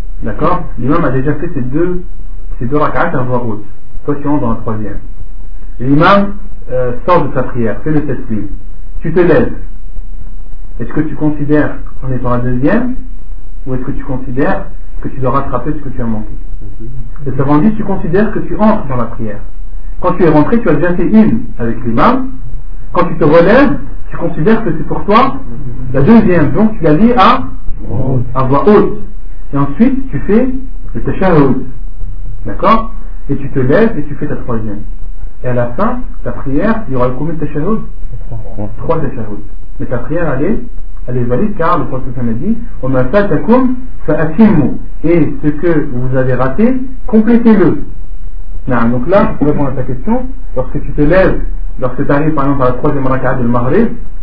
Speaker 1: d'accord? L'imam a déjà fait ces deux rak'at à voix haute. Toi tu rentres dans la 3e. l'imam sort de sa prière, fait le taslim, tu te lèves, est-ce que tu considères en étant la deuxième, ou est-ce que tu considères que tu dois rattraper ce que tu as manqué? Les savants disent, tu considères que tu entres dans la prière. Quand tu es rentré, tu as déjà fait une avec l'imam. Quand tu te relèves, tu considères que c'est pour toi la deuxième, donc tu la lis à voix haute. Et ensuite, tu fais le tashahhud. D'accord? Et tu te lèves et tu fais ta troisième. Et à la fin, ta prière, il y aura combien de tashahhud? 3 tashahhud. Mais ta prière, elle est valide car le prophète a dit وَمَا فَاتَكُمْ فَأَتِمُّوا. Et ce que vous avez raté, complétez-le. Donc là, pour répondre à ta question, lorsque tu te lèves, lorsque tu arrives par exemple à la troisième rak'a de Maghrib,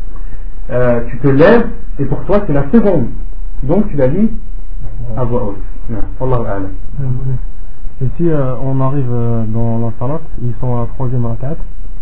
Speaker 1: tu te lèves et pour toi c'est la seconde. Donc tu la lis à voix haute. Wallahu a'lam.
Speaker 3: Et si on arrive dans la salat, ils sont à la troisième rak'at,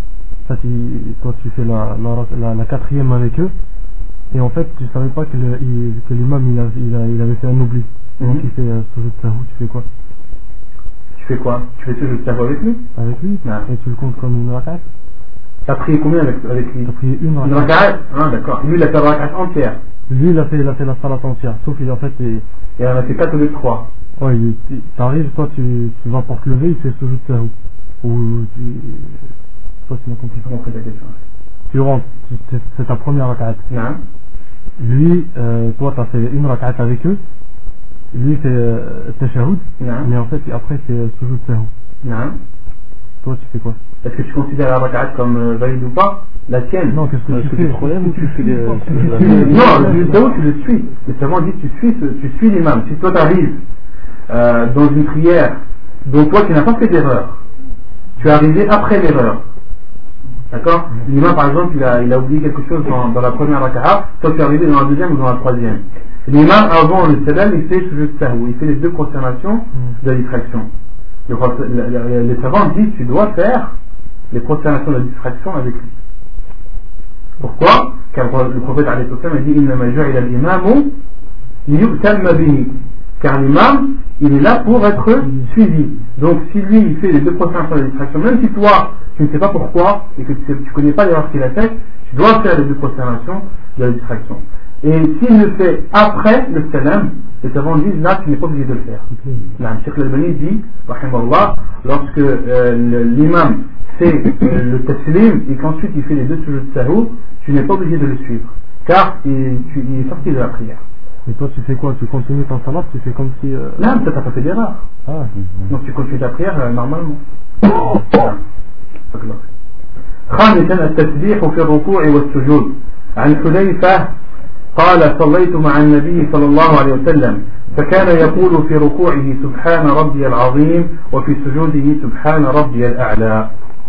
Speaker 3: toi tu fais la quatrième avec eux, et en fait tu savais pas que l'imam il avait fait un oubli. Donc il fait sujoud sahou, tu fais quoi?
Speaker 1: Tu fais quoi? Tu fais sujoud sahou avec lui?
Speaker 3: Avec lui? Et tu le comptes comme une rak'at?
Speaker 1: T'as prié combien avec lui?
Speaker 3: T'as prié une
Speaker 1: rak'at. Ah d'accord. Lui il a fait la rak'at entière.
Speaker 3: Lui il a fait la salat entière, sauf qu'il en fait
Speaker 1: il en a fait 4 au lieu de 3.
Speaker 3: Ouais, t'arrives, toi tu vas pour te lever, il fait sujoud sahou. Ou toi tu m'as compris.
Speaker 1: J'ai compris la question.
Speaker 3: Tu rentres, c'est ta première rak'at.
Speaker 1: Non.
Speaker 3: Lui, toi t'as fait une rak'at avec eux. Lui fait tashahhud. Mais en fait après c'est sujoud sahou.
Speaker 1: Non.
Speaker 3: Toi tu fais quoi?
Speaker 1: Est-ce que tu considères la rak'at comme valide ou pas? La tienne?
Speaker 3: Non, qu'est-ce que tu fais?
Speaker 5: Problème ou tu fais
Speaker 1: non, le sujoud sahou tu le suis. Les savants disent tu suis l'imam. Si toi t'arrives dans une prière dont toi tu n'as pas fait d'erreur, tu es arrivé après l'erreur, d'accord? L'imam par exemple il a oublié quelque chose dans la première rak'a, toi tu es arrivé dans la deuxième ou dans la troisième. L'imam avant le salam il fait sujoud sahou, il fait les deux prosternations de la distraction. Les savants disent tu dois faire les prosternations de la distraction avec lui. Pourquoi? Car le prophète a dit innama ju'ila al-imamu liyu'tamma bihi. Car l'imam, il est là pour être suivi. Donc si lui, il fait les deux prosternations de la distraction, même si toi, tu ne sais pas pourquoi, et que tu ne connais pas l'erreur qu'il a faite, tu dois faire les deux prosternations de la distraction. Et s'il le fait après le salam, les savants disent, là, tu n'es pas obligé de le faire. Là, Cheikh Al-Albani dit, rahimallah, lorsque l'imam fait le taslim, et qu'ensuite il fait les deux sujoud sahou, tu n'es pas obligé de le suivre. Car il est sorti de la prière.
Speaker 3: Et toi tu fais quoi? Tu continues ton salat, tu fais comme si...
Speaker 1: Là, tu n'as pas fait d'erreur. Donc tu continues ta prière normalement. خامسا التسبيح في الركوع والسجود. عن حذيفة قال صليت مع النبي صلى الله عليه وسلم فكان يقول في ركوعه سبحان ربي العظيم وفي سجوده سبحان ربي الأعلى.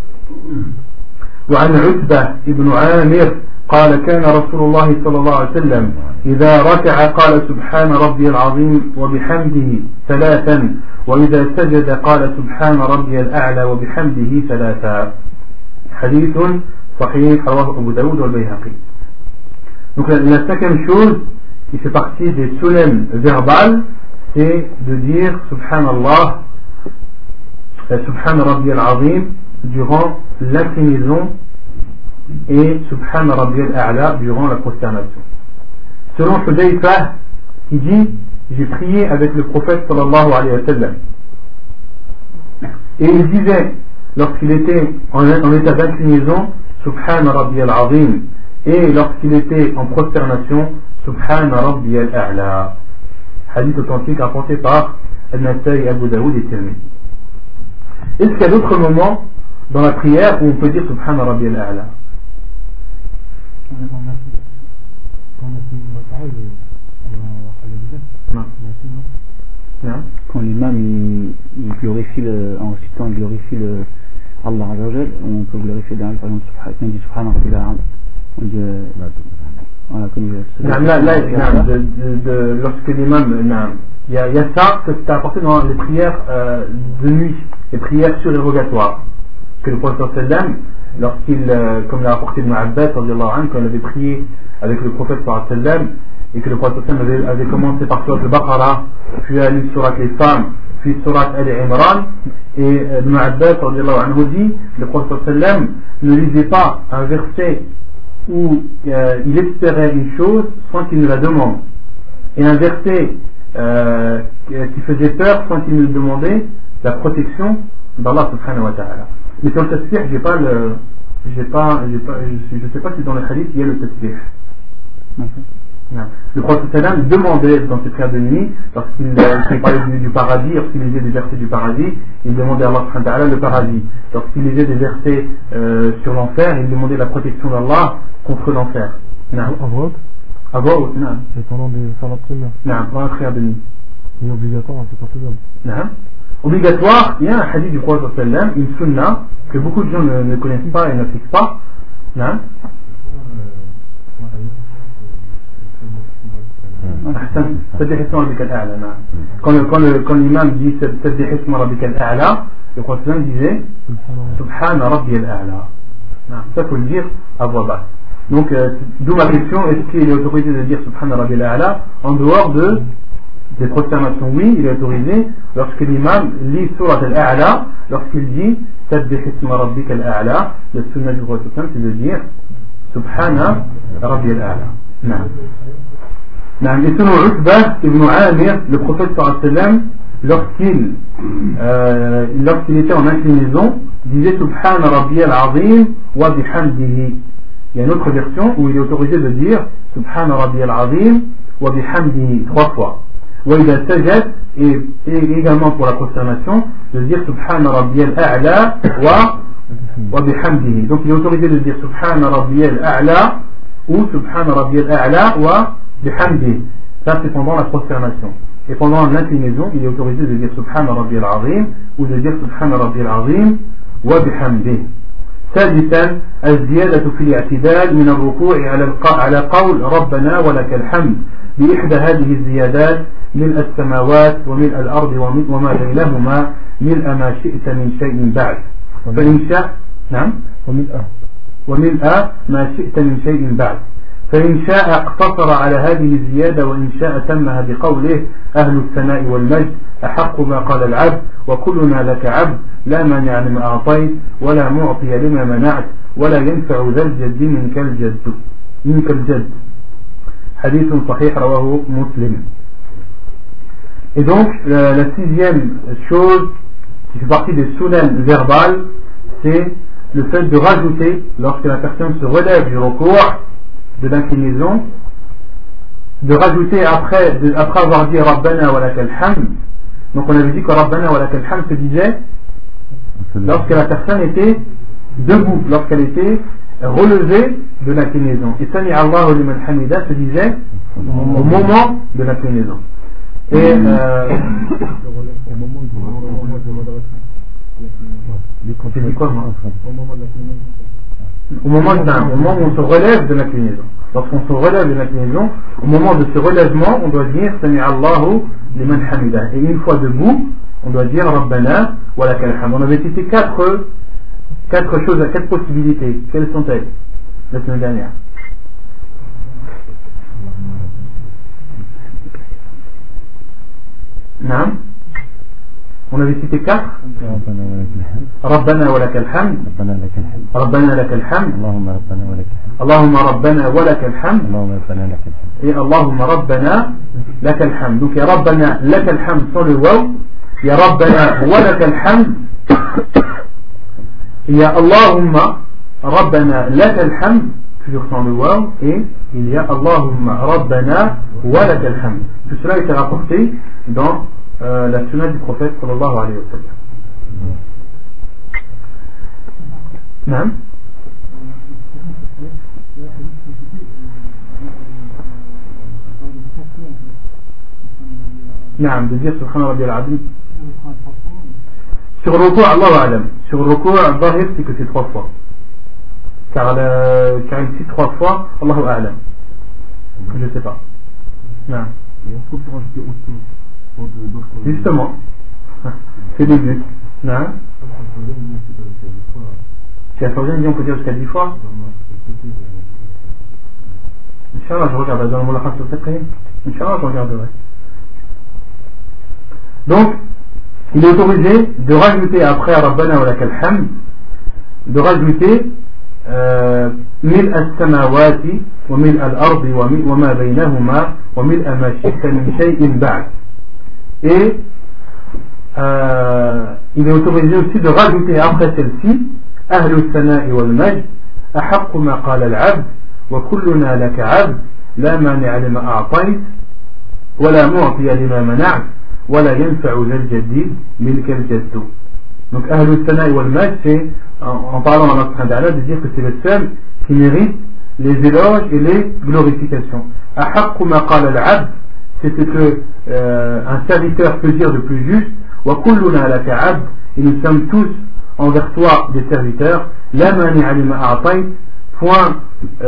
Speaker 1: وعن عتبة بن عامر قال كان رسول الله صلى الله عليه وسلم إذا ركع قال سبحان ربي العظيم وبحمده 3 وإذا سجد قال سبحان ربي الأعلى وبحمده 3. حديث صحيح رواه أبو داود والبيهقي. Donc la cinquième chose qui fait partie des sunnahs verbales, c'est de dire Subhanallah, Subhan Rabbi al-Azim durant l'inclinaison et Subhan Rabbi al-A'la durant la prosternation. Selon Hudayfa, qui dit j'ai prié avec le prophète sallallahu alayhi wa sallam, et il disait lorsqu'il était en état d'inclinaison Subhan Rabbi al-Azim, et lorsqu'il était en prosternation Subhan Rabbi al-A'la. Hadith authentique rapporté par Al-Nasai, Abu Daoud et Tirmidhi. Est-ce qu'il y a d'autres moments dans la prière où on peut dire Subhan Rabbi al-A'la?
Speaker 5: Quand l'imam il glorifie en récitant, il glorifie Allah Azza wa Jal, on peut glorifier derrière, par exemple, on dit Subhan Rabbi al-A'la. On dit
Speaker 1: lorsque l'imam, il y a ça que c'est apporté dans les prières de nuit, les prières surérogatoires, que le prophète sallam, lorsqu'il, comme l'a apporté Ibn Abbas quand il avait prié avec le prophète sallam, et que le prophète sallam avait commencé par surat al-Baqarah, puis a lu surat les femmes, puis Surat Al-Imran, et Ibn Abbas dit, le prophète sallam ne lisait pas un verset où il espérait une chose sans qu'il ne la demande, et un verset qui faisait peur sans qu'il ne demandait la protection d'Allah subhanahu wa ta'ala. Mais sur le tasbih, je sais pas si dans le hadith il y a le tasbih. Le prophète sallam demandait dans ses prières de nuit, lorsqu'il parlait du paradis, lorsqu'il lisait des versets du paradis, il demandait à Allah subhanahu wa ta'ala le paradis. Lorsqu'il lisait des versets sur l'enfer, il demandait la protection d'Allah contre l'enfer. À voix haute, non.
Speaker 3: Et pendant la prière.
Speaker 1: Non, pendant la prière de nuit.
Speaker 3: Il est obligatoire, c'est pas faisable.
Speaker 1: Non. Obligatoire, il y a un hadith du prophète sallam, une sunna, que beaucoup de gens ne connaissent pas et n'appliquent pas. Non. Quand l'imam dit Sabbih isma rabbika al-a'la, le prophète sallam disait Subhana rabbi al-a'la. Ça faut le dire à voix basse. Donc, d'où ma question, est-ce qu'il est autorisé de dire Subhana rabbi al-a'la en dehors des prosternations? Oui, il est autorisé lorsque l'imam lit Surat al-a'la, lorsqu'il dit Sabbih isma rabbika al-a'la, le sunnah du prophète sallam c'est de dire Subhana rabbi al-a'la. Non. Et selon Utbah ibn Amir, le prophète sallam, lorsqu'il était en inclinaison, disait Subhana Rabbi al-Azim wa bihamdihi. Il y a une autre version où il est autorisé de dire Subhana Rabbi al-Azim wa bihamdihi 3 fois. Wa idha sajad, et également pour la prosternation, de dire Subhana Rabbi al-A'la wa bihamdihi. Donc il est autorisé de dire Subhana Rabbi al-A'la ou Subhana Rabbi al-A'la wa bihamdihi. Ça c'est pendant la prosternation. Et pendant l'inclinaison, il est autorisé de dire Subhana Rabbi al-Azim ou de dire Subhana Rabbi al-Azim wa bihamdihi. ثالثا الزيادة في الاعتدال من الركوع على قول ربنا ولك الحمد بإحدى هذه الزيادات ملء السماوات وملء الأرض وما بينهما ملء ما شئت من شيء بعد فإن شاء نعم وملء ما شئت من شيء بعد فإن شاء اقتصر على هذه الزيادة وإن شاء تمها بقوله أهل الثناء والمجد أحق ما قال العبد وكلنا لك عبد لا مانع لما أعطيت ولا معطي لما منعت ولا ينفع ذا الجد منك الجد حديث صحيح رواه مسلم. Et donc la sixième chose qui fait partie des sunan verbales, c'est le fait de rajouter, lorsque la personne se relève du recours de l'inclinaison, de rajouter après avoir dit Rabbana wa lakal hamd. Donc on avait dit que Rabbana wa lakal hamd se disait lorsque la personne était debout, lorsqu'elle était relevée de l'inclinaison. Et Sami Allahu liman hamida se disait au moment de l'inclinaison. Et au moment où on se relève de l'inclinaison. Lorsqu'on se relève de l'inclinaison, au moment de ce relèvement, on doit dire Sami Allahu liman hamida. Et une fois debout, on doit dire Rabbana wa lakal hamd. On avait cité quatre possibilités. Quelles sont-elles la semaine dernière? Non. On avait cité 4. Rabbana wa lakal hamd. Rabbana lakal hamd. Allahumma rabbana wa lakal hamd. Et Allahumma rabbana lakal hamd. Donc il y a Rabbana lakal hamd sans le waw. Il y a Rabbana wa lakal hamd. Il y a Allahumma rabbana lakal hamd, toujours sans le waw. Et il y a Allahumma rabbana wa lakal hamd. Tout cela a été rapporté dans la sunna du prophète sallallahu alayhi wa sallam. Naam. Naam, de dire Subhana Rabbi al-Azim. Sur le recours, Allahu A'lam. Sur le recours, al-Zahir, c'est que c'est 3 fois. Car il cite 3 fois, Allahu A'lam. Je ne sais pas. Naam. Justement, c'est le but. Non. Si la Fawzan dit on peut dire jusqu'à 10 fois. Inch'Allah, je regarde dans le Moulakha sur le Fiqh. Inch'Allah, je regarderai. Donc, il est autorisé de rajouter après Rabbana wa lakal hamd, de rajouter ملء السماوات وملء الأرض وما بينهما وملء ما شئت من شيء بعد. Et il est autorisé aussi de rajouter après celle-ci أهل الثناء والمجد أحق ما قال العبد وكلنا لك عبد لا مانع لما أعطيت ولا معطي لما منعت ولا ينفع ذا الجد منك الجد. Donc أهل الثناء والمجد, c'est en parlant à notre Ta'ala de dire que c'est le seul qui mérite les éloges et les glorifications. أحق ما قال العبد, c'est ce que un serviteur peut dire de plus juste. وكلنا لك عبد, et nous sommes tous envers toi des serviteurs. لا مانع لما أعطيت, point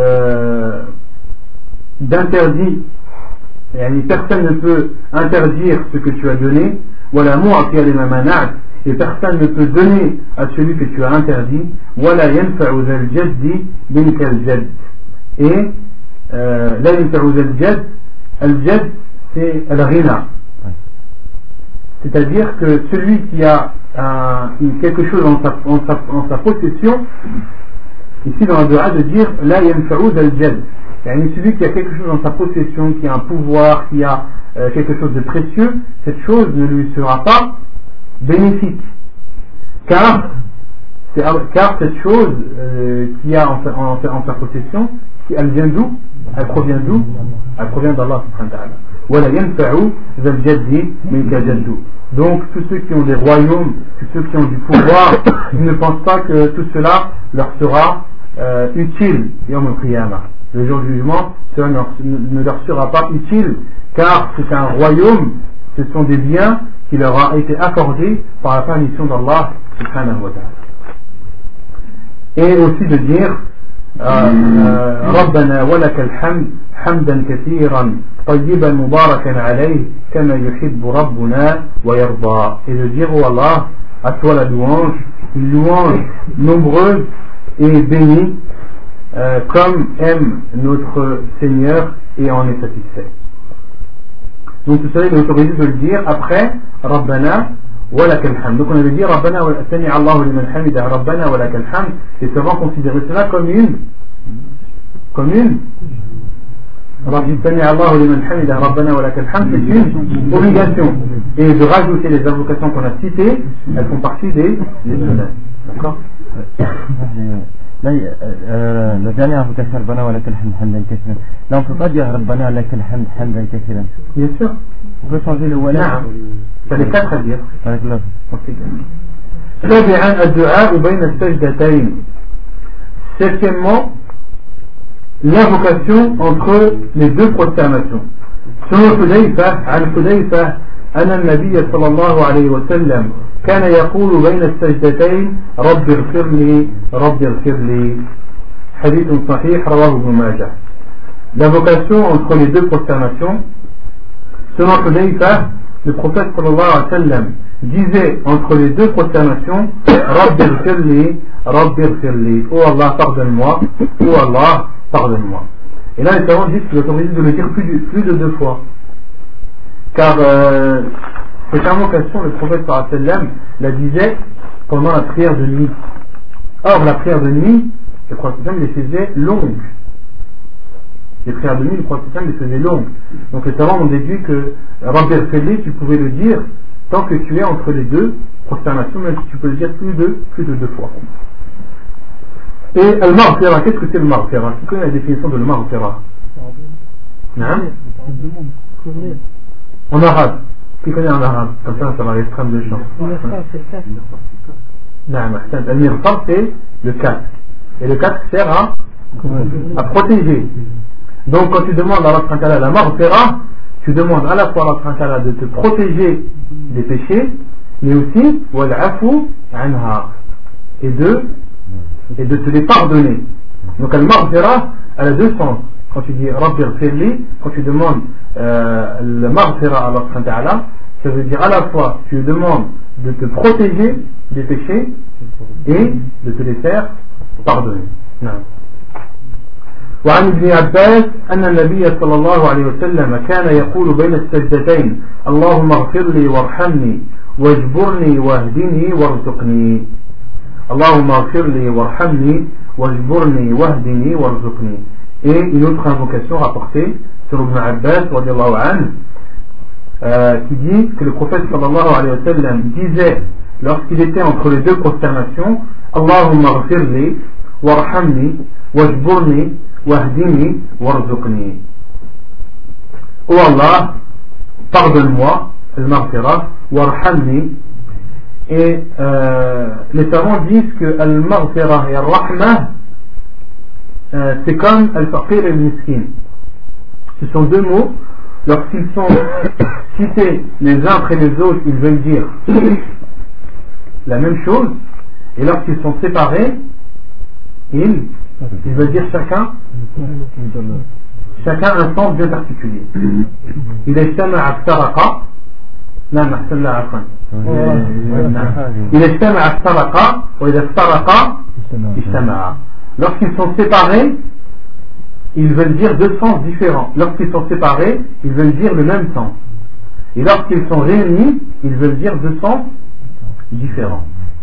Speaker 1: d'interdit, personne ne peut interdire ce que tu as donné. ولا معطي لما منعت, et personne ne peut donner à celui que tu as interdit. ولا ينفع ذا الجد منك الجد. Et لا ينفع ذا الجد, الجد c'est الغنى, c'est-à-dire que celui qui a quelque chose en sa possession, ici dans le dua de dire la yanfa'u zal jad, celui qui a quelque chose en sa possession, qui a un pouvoir, qui a quelque chose de précieux, cette chose ne lui sera pas bénéfique, car cette chose qui a en sa possession, elle vient d'où? Elle provient d'où? Elle provient d'Allah subhanahu wa ta'ala. Donc tous ceux qui ont des royaumes, tous ceux qui ont du pouvoir, ils ne pensent pas que tout cela leur sera utile Yawm al-Qiyamah. Le jour du jugement, cela ne leur sera pas utile, car c'est un royaume, ce sont des biens qui leur ont été accordés par la permission d'Allah subhanahu wa ta'ala. Et aussi de dire ربنا ولك الحمد حمدا كثيرا طيبا مباركا عليه كما يحب ربنا ويرضى, et de dire, oh Allah, à toi la louange, une louange nombreuse et bénie comme aime notre Seigneur et en est satisfait. Donc tout cela il est autorisé de le dire après Rabbana wa lakal hamd. Donc on avait dit Rabbana wa sami Allahu liman hamida Rabbana wa lakal hamd, et seulement considérer cela comme une Sami Allahu liman hamida Rabbana wa lakal hamd, c'est une obligation, et de rajouter les invocations qu'on a citées, elles font partie des sunnahs. D'accord?
Speaker 3: Là, la dernière invocation, Rabbana wa lakal hamd hamdan kathiran. Là, on ne peut pas dire Rabbana wa lakal hamd hamdan kathiran.
Speaker 1: Bien sûr.
Speaker 3: On peut changer le wala.
Speaker 1: C'est les quatre à dire.
Speaker 3: Avec l'autre.
Speaker 1: سابعا الدعاء بين السجدتين. Septièmement, l'invocation entre les deux prosternations. Selon Hudayfa, عن حذيفة أن النبي صلى الله عليه وسلم كان يقول بين السجدتين رب اغفر لي رب اغفر لي. حديث صحيح رواه ابن ماجه. L'invocation entre les deux prosternations. Selon Hudayfa, le prophète sallallahu alayhi wa sallam disait entre les deux prosternations Rabbi ighfirli, Rabbi ighfirli, oh Allah pardonne-moi, oh Allah pardonne-moi. Et là les savants disent qu'il est autorisé de le dire plus de deux fois, car cette invocation le prophète sallallahu alayhi wa sallam la disait pendant la prière de nuit. Or la prière de nuit, le prophète les faisait longues. Les prières de nuit, le prophète les faisait longues. Donc les savants ont déduit que Rabbi ighfirli, tu pouvais le dire tant que tu es entre les deux prosternations, même si tu peux le dire plus de deux fois. Et al-maghfira, qu'est-ce que c'est le maghfira? Qui connaît la définition de le maghfira? En arabe. Qui connaît en arabe? Comme ça va à l'extrême de champ. Al-mighfar, c'est le casque. Et le casque sert à protéger. Donc quand tu demandes à Allah la maghfira, tu demandes à la fois à Allah de te protéger des péchés, mais aussi wal-afu anha, et de te les pardonner. Donc al-maghfira, elle a deux sens. Quand tu dis Rabbi ighfirli, quand tu demandes le maghfira à Allah, ça veut dire à la fois tu demandes de te protéger des péchés et de te les faire pardonner. Non. وعن ابن عباس أن النبي صلى الله عليه وسلم كان يقول بين السجدتين اللهم اغفر لي وارحمني واجبرني واهدني وارزقني. اللهم اغفر لي وارحمني واجبرني واهدني وارزقني. Et une autre invocation rapportée sur Ibn Abbas radiallahu anhu, qui dit que le prophète sallallahu alayhi wa sallam disait lorsqu'il était entre les deux prosternations, Allahumma ghfirli warhamni wajburni wahdini warzuqni. Oh Allah, pardonne-moi, al-maghfira, warhamni. Et les savants disent que al-maghfira et al-rahma, c'est comme al-faqir et al-miskin. Ce sont deux mots, lorsqu'ils sont cités les uns après les autres, ils veulent dire la même chose, et lorsqu'ils sont séparés, ils veulent dire chacun un sens bien particulier. Il est اجتمع افترق. نعم أحسن الله عفوا. إذا اجتمع افترق وإذا افترق اجتمع. Lorsqu'ils sont séparés, ils veulent dire deux sens différents. Lorsqu'ils sont séparés, ils veulent dire le même sens. Et lorsqu'ils sont réunis, ils veulent dire deux sens différents.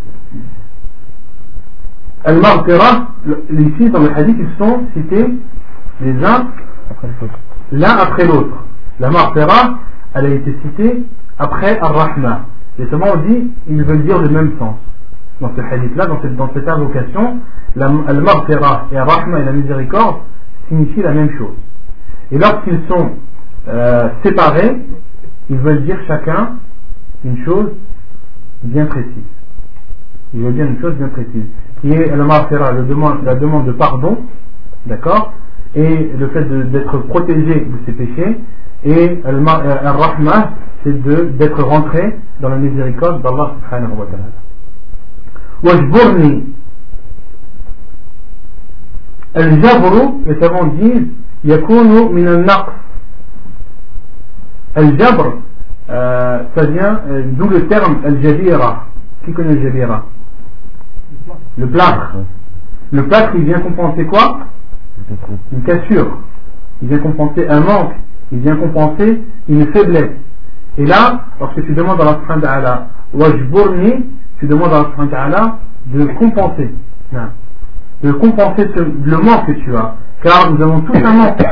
Speaker 1: Al-Maghfira, ici dans le hadith, ils sont cités les uns l'un après l'autre. La Maghfira, elle a été citée après Ar-Rahma. Les savants ont dit, ils veulent dire le même sens. Dans ce hadith-là, dans cette invocation, Al-Maghfira et Ar-Rahma et la miséricorde signifient la même chose. Et lorsqu'ils sont séparés, ils veulent dire chacun une chose bien précise. Ils veulent dire une chose bien précise, qui est Al-Maghfira, la demande de pardon, d'accord, et le fait d'être protégé de ses péchés, et Al-Rahma, c'est d'être rentré dans la miséricorde d'Allah subhanahu wa ta'ala. Wajburni. Al-Jabru, les savants disent, yakunu min al-naqs. Al-Jabr, ça vient d'où le terme Al-Jabira. Qui connaît Al-Jabira? Le plâtre. Le plâtre, il vient compenser quoi? Une cassure. Il vient compenser un manque. Il vient compenser une faiblesse. Et là, lorsque tu demandes à Allah subhanahu wa ta'ala wajburni, tu demandes à Allah subhanahu wa ta'ala de compenser. De compenser le manque que tu as. Car nous avons tous un manque.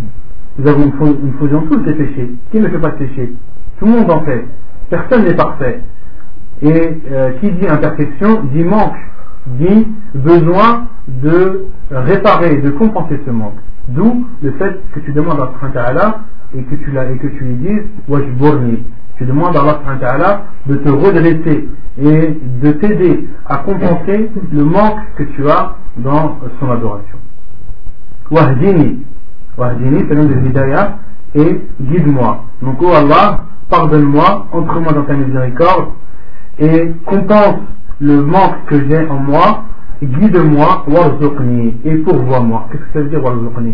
Speaker 1: Nous faisions tous des péchés. Qui ne fait pas de péché? Tout le monde en fait. Personne n'est parfait. Et qui dit imperfection dit manque, dit besoin de réparer, de compenser ce manque. D'où le fait que tu demandes à Allah ta'ala et que tu lui dises wajburni. Tu demandes à Allah ta'ala de te redresser et de t'aider à compenser le manque que tu as dans son adoration. Wahdini. Wahdini, c'est le nom de l'hidayah, et guide-moi. Donc, oh Allah, pardonne-moi, entre-moi dans ta miséricorde et compense le manque que j'ai en moi, guide-moi, warzuqni, et pourvois-moi. Qu'est-ce que ça veut dire warzuqni?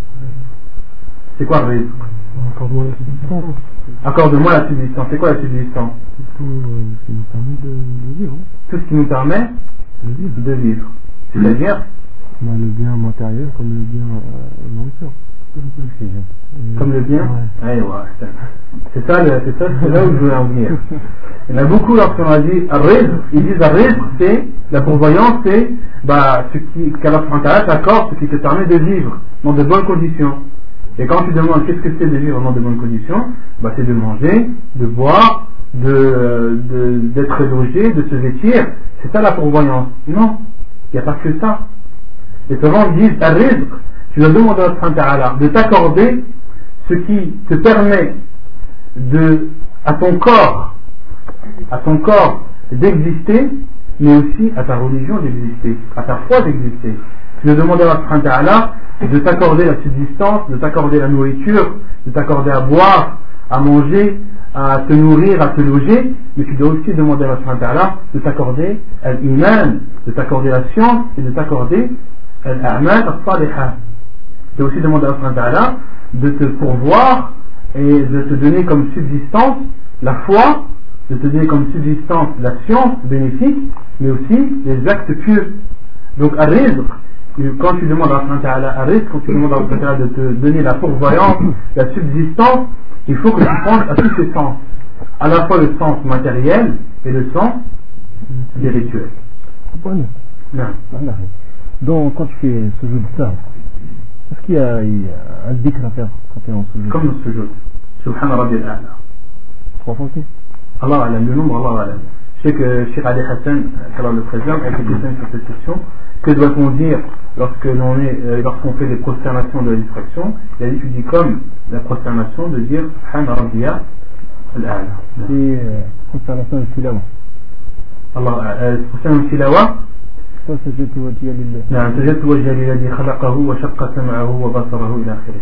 Speaker 1: C'est quoi le rizq?
Speaker 2: Accorde-moi la subsistance.
Speaker 1: Accorde-moi la subsistance. C'est quoi la subsistance?
Speaker 2: Tout ce qui nous permet de vivre.
Speaker 1: Tout ce qui nous permet de vivre. C'est-à-dire
Speaker 2: le bien matériel comme le bien nourriture.
Speaker 1: Comme le bien, ouais. C'est là où je voulais en venir. Il y en a beaucoup lorsqu'on a dit rizq, ils disent rizq, c'est la pourvoyance, c'est ce qu'Allah t'accorde, ce qui te permet de vivre dans de bonnes conditions. Et quand tu demandes qu'est-ce que c'est de vivre dans de bonnes conditions, c'est de manger, de boire, d'être logé, de se vêtir. C'est ça la pourvoyance. Non, il n'y a pas que ça. Les savants disent rizq, tu dois demander à Allah ta'ala de t'accorder ce qui te permet à ton corps d'exister, mais aussi à ta religion d'exister, à ta foi d'exister. Tu dois demander à Allah ta'ala de t'accorder la subsistance, de t'accorder la nourriture, de t'accorder à boire, à manger, à te nourrir, à te loger, mais tu dois aussi demander à Allah ta'ala de t'accorder l'iman, de t'accorder la science et de t'accorder l'a'mal as-salihah. Tu dois aussi demander à Allah ta'ala de te pourvoir et de te donner comme subsistance la foi, de te donner comme subsistance la science bénéfique, mais aussi les actes pieux. Donc ar-rizq, quand tu demandes à Allah ta'ala ar-rizq, quand tu demandes à Allah ta'ala de te donner la pourvoyance, la subsistance, il faut que tu penses à tous ces sens. à la fois le sens matériel et le sens spirituel.
Speaker 3: Voilà.
Speaker 1: Non.
Speaker 3: Voilà. Donc quand tu fais ce jeu de ça, est-ce qu'il y a un dhikr à faire quand tu es en sujoud?
Speaker 1: Comme dans ce jeu. Subhana Rabbi al-A'la.
Speaker 3: 3 fois aussi.
Speaker 1: Allah alam, le nombre, Allah alam. Je sais que Cheikh Ali Hassan, qu'Allah le préserve, a été questionné sur cette question. Que doit-on dire lorsqu'on fait des prosternations de la distraction? Il a dit, tu dis comme la prosternation de dire Subhana Rabbi al-A'la.
Speaker 3: Et consternation de Tilawa.
Speaker 1: Allah, prosternation de Tilawa.
Speaker 3: سجدت وجهي لله.
Speaker 1: نعم سجدت وجهي للذي خلقه وشق سمعه وبصره إلى آخره.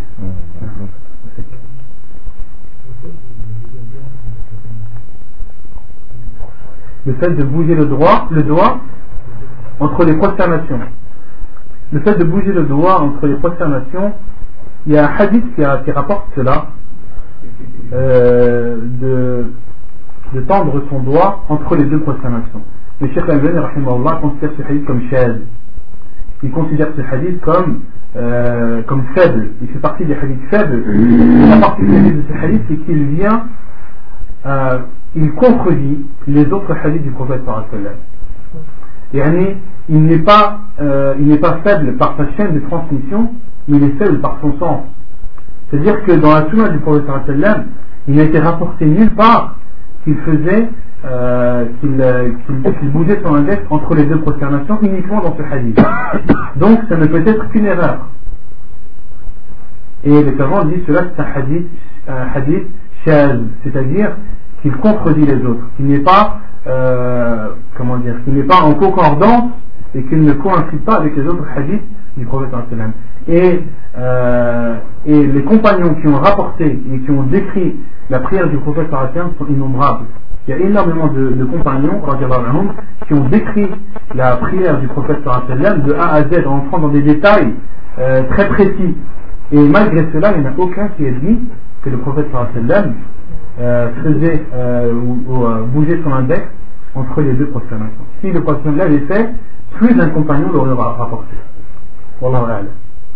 Speaker 1: Le fait de bouger le doigt entre les prosternations. Le fait de bouger le doigt entre les prosternations, il y a un hadith qui rapporte cela, de tendre son doigt entre les deux prosternations. Le Cheikh Al-Albani rahimahullah considère ce hadith comme shadh. Il considère ce hadith comme faible. Il fait partie des hadiths faibles. La particularité de ce hadith, c'est qu'il vient, il contredit les autres hadiths du prophète sallallahu alayhi wa sallam. Il n'est pas faible par sa chaîne de transmission, mais il est faible par son sens. C'est-à-dire que dans la sunna du prophète sallallahu alayhi wa sallam, il n'a été rapporté nulle part qu'il faisait qu'il bougeait son index entre les deux prosternations uniquement dans ce hadith. Donc ça ne peut être qu'une erreur. Et les savants disent cela c'est un hadith shaz, c'est-à-dire qu'il contredit les autres, qu'il n'est pas qu'il n'est pas en concordance et qu'il ne coïncide pas avec les autres hadiths du prophète sallallahu alayhi wa sallam. Et les compagnons qui ont rapporté et qui ont décrit la prière du prophète sallallahu alayhi wa sallam sont innombrables. Il y a énormément de compagnons qui ont décrit la prière du prophète sallallahu alayhi wa sallam de A à Z en entrant dans des détails très précis. Et malgré cela, il n'y en a aucun qui ait dit que le prophète sallallahu alayhi wa sallam faisait ou bougeait son index entre les deux prosternations. Si le prophète l'avait fait, plus d'un compagnon l'aurait rapporté. Wallahu a'lam.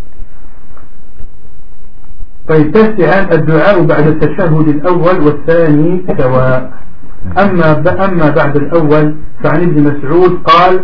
Speaker 1: فيتسع الدعاء بعد التشهد الأول والثاني سواء. أما بعد الأول فعن ابن مسعود قال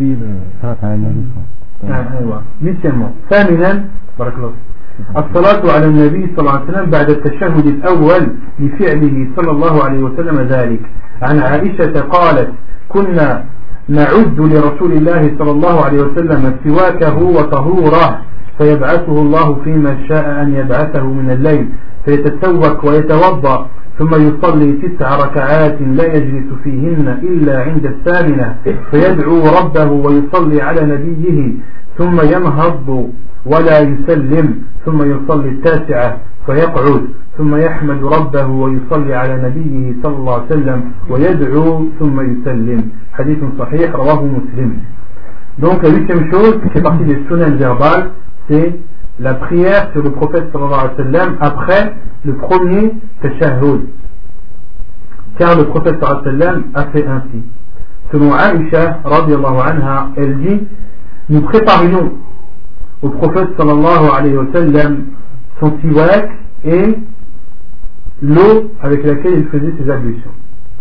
Speaker 1: ثامنا بارك الله الصلاة على النبي صلى الله عليه وسلم بعد التشهد الأول لفعله صلى الله عليه وسلم ذلك. عن عائشة قالت كنا نعد لرسول الله صلى الله عليه وسلم سواكه وطهوره فيبعثه الله فيما شاء أن يبعثه من الليل فيتسوك ويتوضأ ثم يصلي 9 ركعات لا يجلس فيهن إلا عند الثامنة فيدعو ربه ويصلي على نبيه ثم ينهض ولا يسلم ثم يصلي 9 فيقعد ثم يحمد ربه ويصلي على نبيه صلى الله عليه وسلم ويدعو ثم يسلم. حديث صحيح رواه مسلم. Donc la 8e chose qui fait partie des sunan verbales, c'est la prière sur le prophète sallallahu alayhi wa sallam après le premier tashahhud. Car le prophète sallallahu alayhi wa sallam a fait ainsi. Selon Aïcha radiyallahu anha, elle dit: nous préparions au prophète sallallahu alayhi wa sallam son siwak et l'eau avec laquelle il faisait ses ablutions.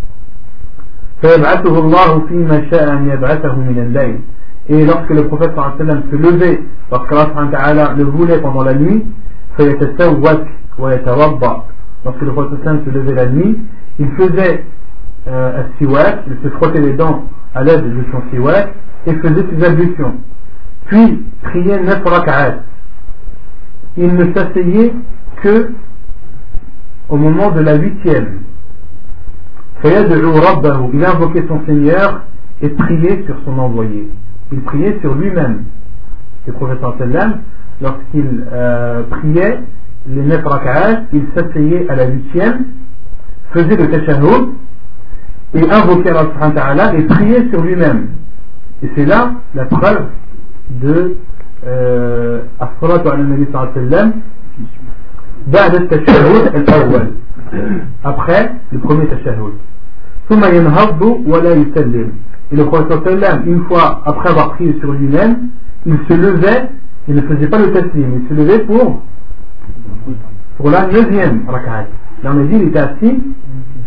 Speaker 1: فيبعثه الله فيما شاء أن يبعثه من الليل. Et lorsque le prophète sallallahu alayhi wa sallam se levait, lorsqu'Allah subhanahu wa ta'ala le voulait pendant la nuit, فيتسوك ويتوضأ. Lorsque le prophète sallallahu alayhi wa sallam se levait la nuit, il faisait un siwak, il se frottait les dents à l'aide de son siwak et faisait ses ablutions. Puis priait 9 rak'at. Il ne s'asseyait que au moment de la 8e. فيدعو ربه. Il invoquait son Seigneur et priait sur son envoyé. Il priait sur lui-même. Le prophète sallallahu alayhi wa sallam, lorsqu'il priait les 9 rak'at, il s'asseyait à la 8e, faisait le tashahhud et invoquait Allah subhanahu wa ta'ala et priait sur lui-même. Et c'est là la preuve de as-salatu ala nabi sallallahu alayhi wa sallam بعد التشهد الأول, après le premier tashahhud. ثم ينهض ولا يسلم. Et le prophète sallallahu alayhi wa sallam, une fois après avoir prié sur lui-même, il se levait, il ne faisait pas le taslim, il se levait pour la 9e rak'at. Là on a dit il était assis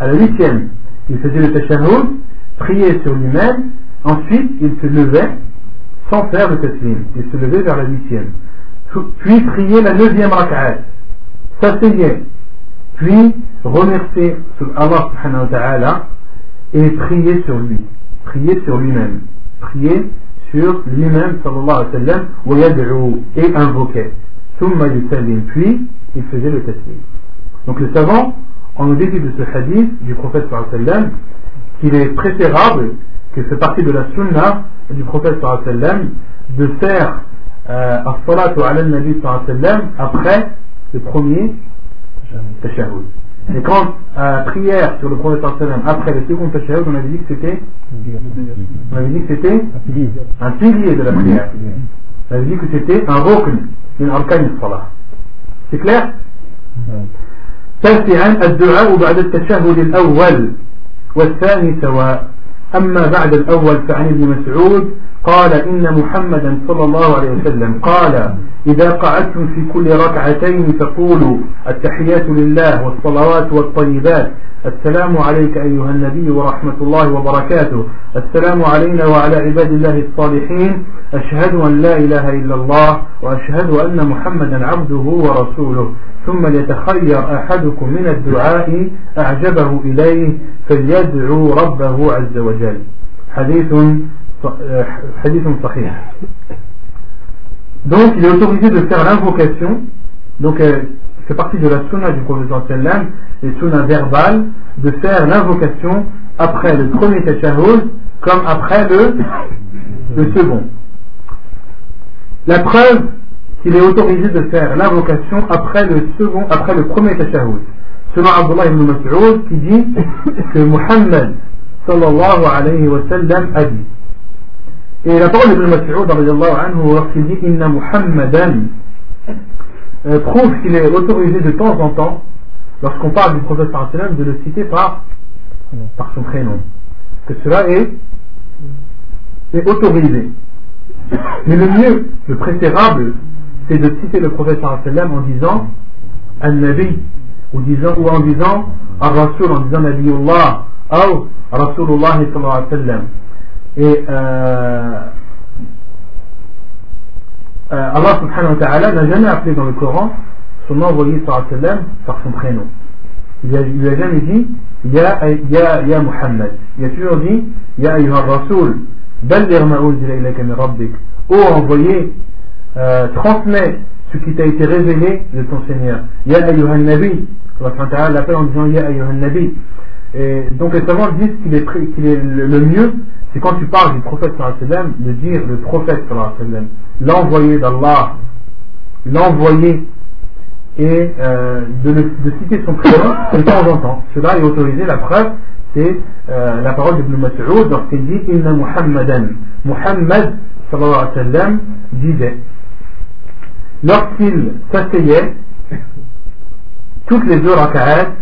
Speaker 1: à la 8e, il faisait le tashahhud, priait sur lui-même, ensuite il se levait sans faire le taslim, il se levait vers la 8e, puis priait la 9e rak'at, s'asseyait, puis remerciait Allah subhanahu wa ta'ala et priait sur lui, priait sur lui-même, priait sur lui-même sallallahu alayhi wa sallam, wa yad'u, et invoquait, thumma yusallim, puis il faisait le taslim. Donc les savants on nous dit de ce hadith du prophète sallallahu alayhi wa sallam qu'il est préférable, que c'est partie de la sunna du prophète sallallahu alayhi wa sallam de faire as-salatu ala al-nabi sallallahu alayhi wa sallam après le premier tashahhud. Et quand prière sur le prophète sallallahu alayhi wa sallam après le second tashahhud, on avait dit que c'était un pilier de la prière. On avait dit que c'était un rukn min arkan as-salah. C'est clair? تاسعا الدعاء بعد التشهد الأول والثاني سواء. أما بعد الأول فعن ابن مسعود قال إن محمدا صلى الله عليه وسلم قال إذا قعدتم في كل ركعتين فقولوا التحيات لله والصلوات والطيبات السلام عليك أيها النبي ورحمة الله وبركاته السلام علينا وعلى عباد الله الصالحين أشهد أن لا إله إلا الله وأشهد أن محمدا عبده ورسوله ثم ليتخير أحدكم من الدعاء أعجبه إليه فليدعو ربه عز وجل. حديث صحيح. Donc il est autorisé de faire l'invocation, donc c'est partie de la sunna du prophète sallam, les sunna verbales, de faire l'invocation après le premier tashahhud comme après le second. La preuve qu'il est autorisé de faire l'invocation après le premier tashahhud, selon Abdullah ibn Mas'ud qui dit que Muhammad sallallahu alayhi wa sallam a dit. Et la parole d'Ibn Mas'ud radiyallahu anhu lorsqu'il dit Inna Muhammadan prouve qu'il est autorisé de temps en temps, lorsqu'on parle du prophète sallallahu alayhi wa sallam, de le citer par son prénom, que cela est autorisé. Mais le mieux, le préférable, c'est de citer le prophète sallallahu alayhi wa sallam en disant Al-Nabi, ou en disant Al-Rasul, en disant Nabiullah, ou Rasulullah sallallahu alayhi wa sallam. Et Allah subhanahu wa ta'ala n'a jamais appelé dans le Coran son envoyé sallallahu alayhi wa sallam par son prénom. Il lui a jamais dit Ya Muhammad. Il a toujours dit Ya ayyuha Rasul balligh ma unzila ilayka min rabbik. Ô envoyé, transmets ce qui t'a été révélé de ton Seigneur. Ya ayyuha Nabi. Allah subhanahu wa ta'ala l'appelle en disant Ya ayyuha Nabi. Et donc les savants disent qu'il est le mieux, c'est quand tu parles du prophète sallallahu alayhi wa sallam, de dire le prophète sallallahu alayhi wa sallam, l'envoyé d'Allah, l'envoyé, et de citer son prénom de temps en temps. Cela est autorisé. La preuve, c'est la parole d'Ibn Mas'ud lorsqu'il dit Inna Muhammadan. Muhammad sallallahu alayhi wa sallam disait, lorsqu'il s'asseyait, toutes les deux raka'at,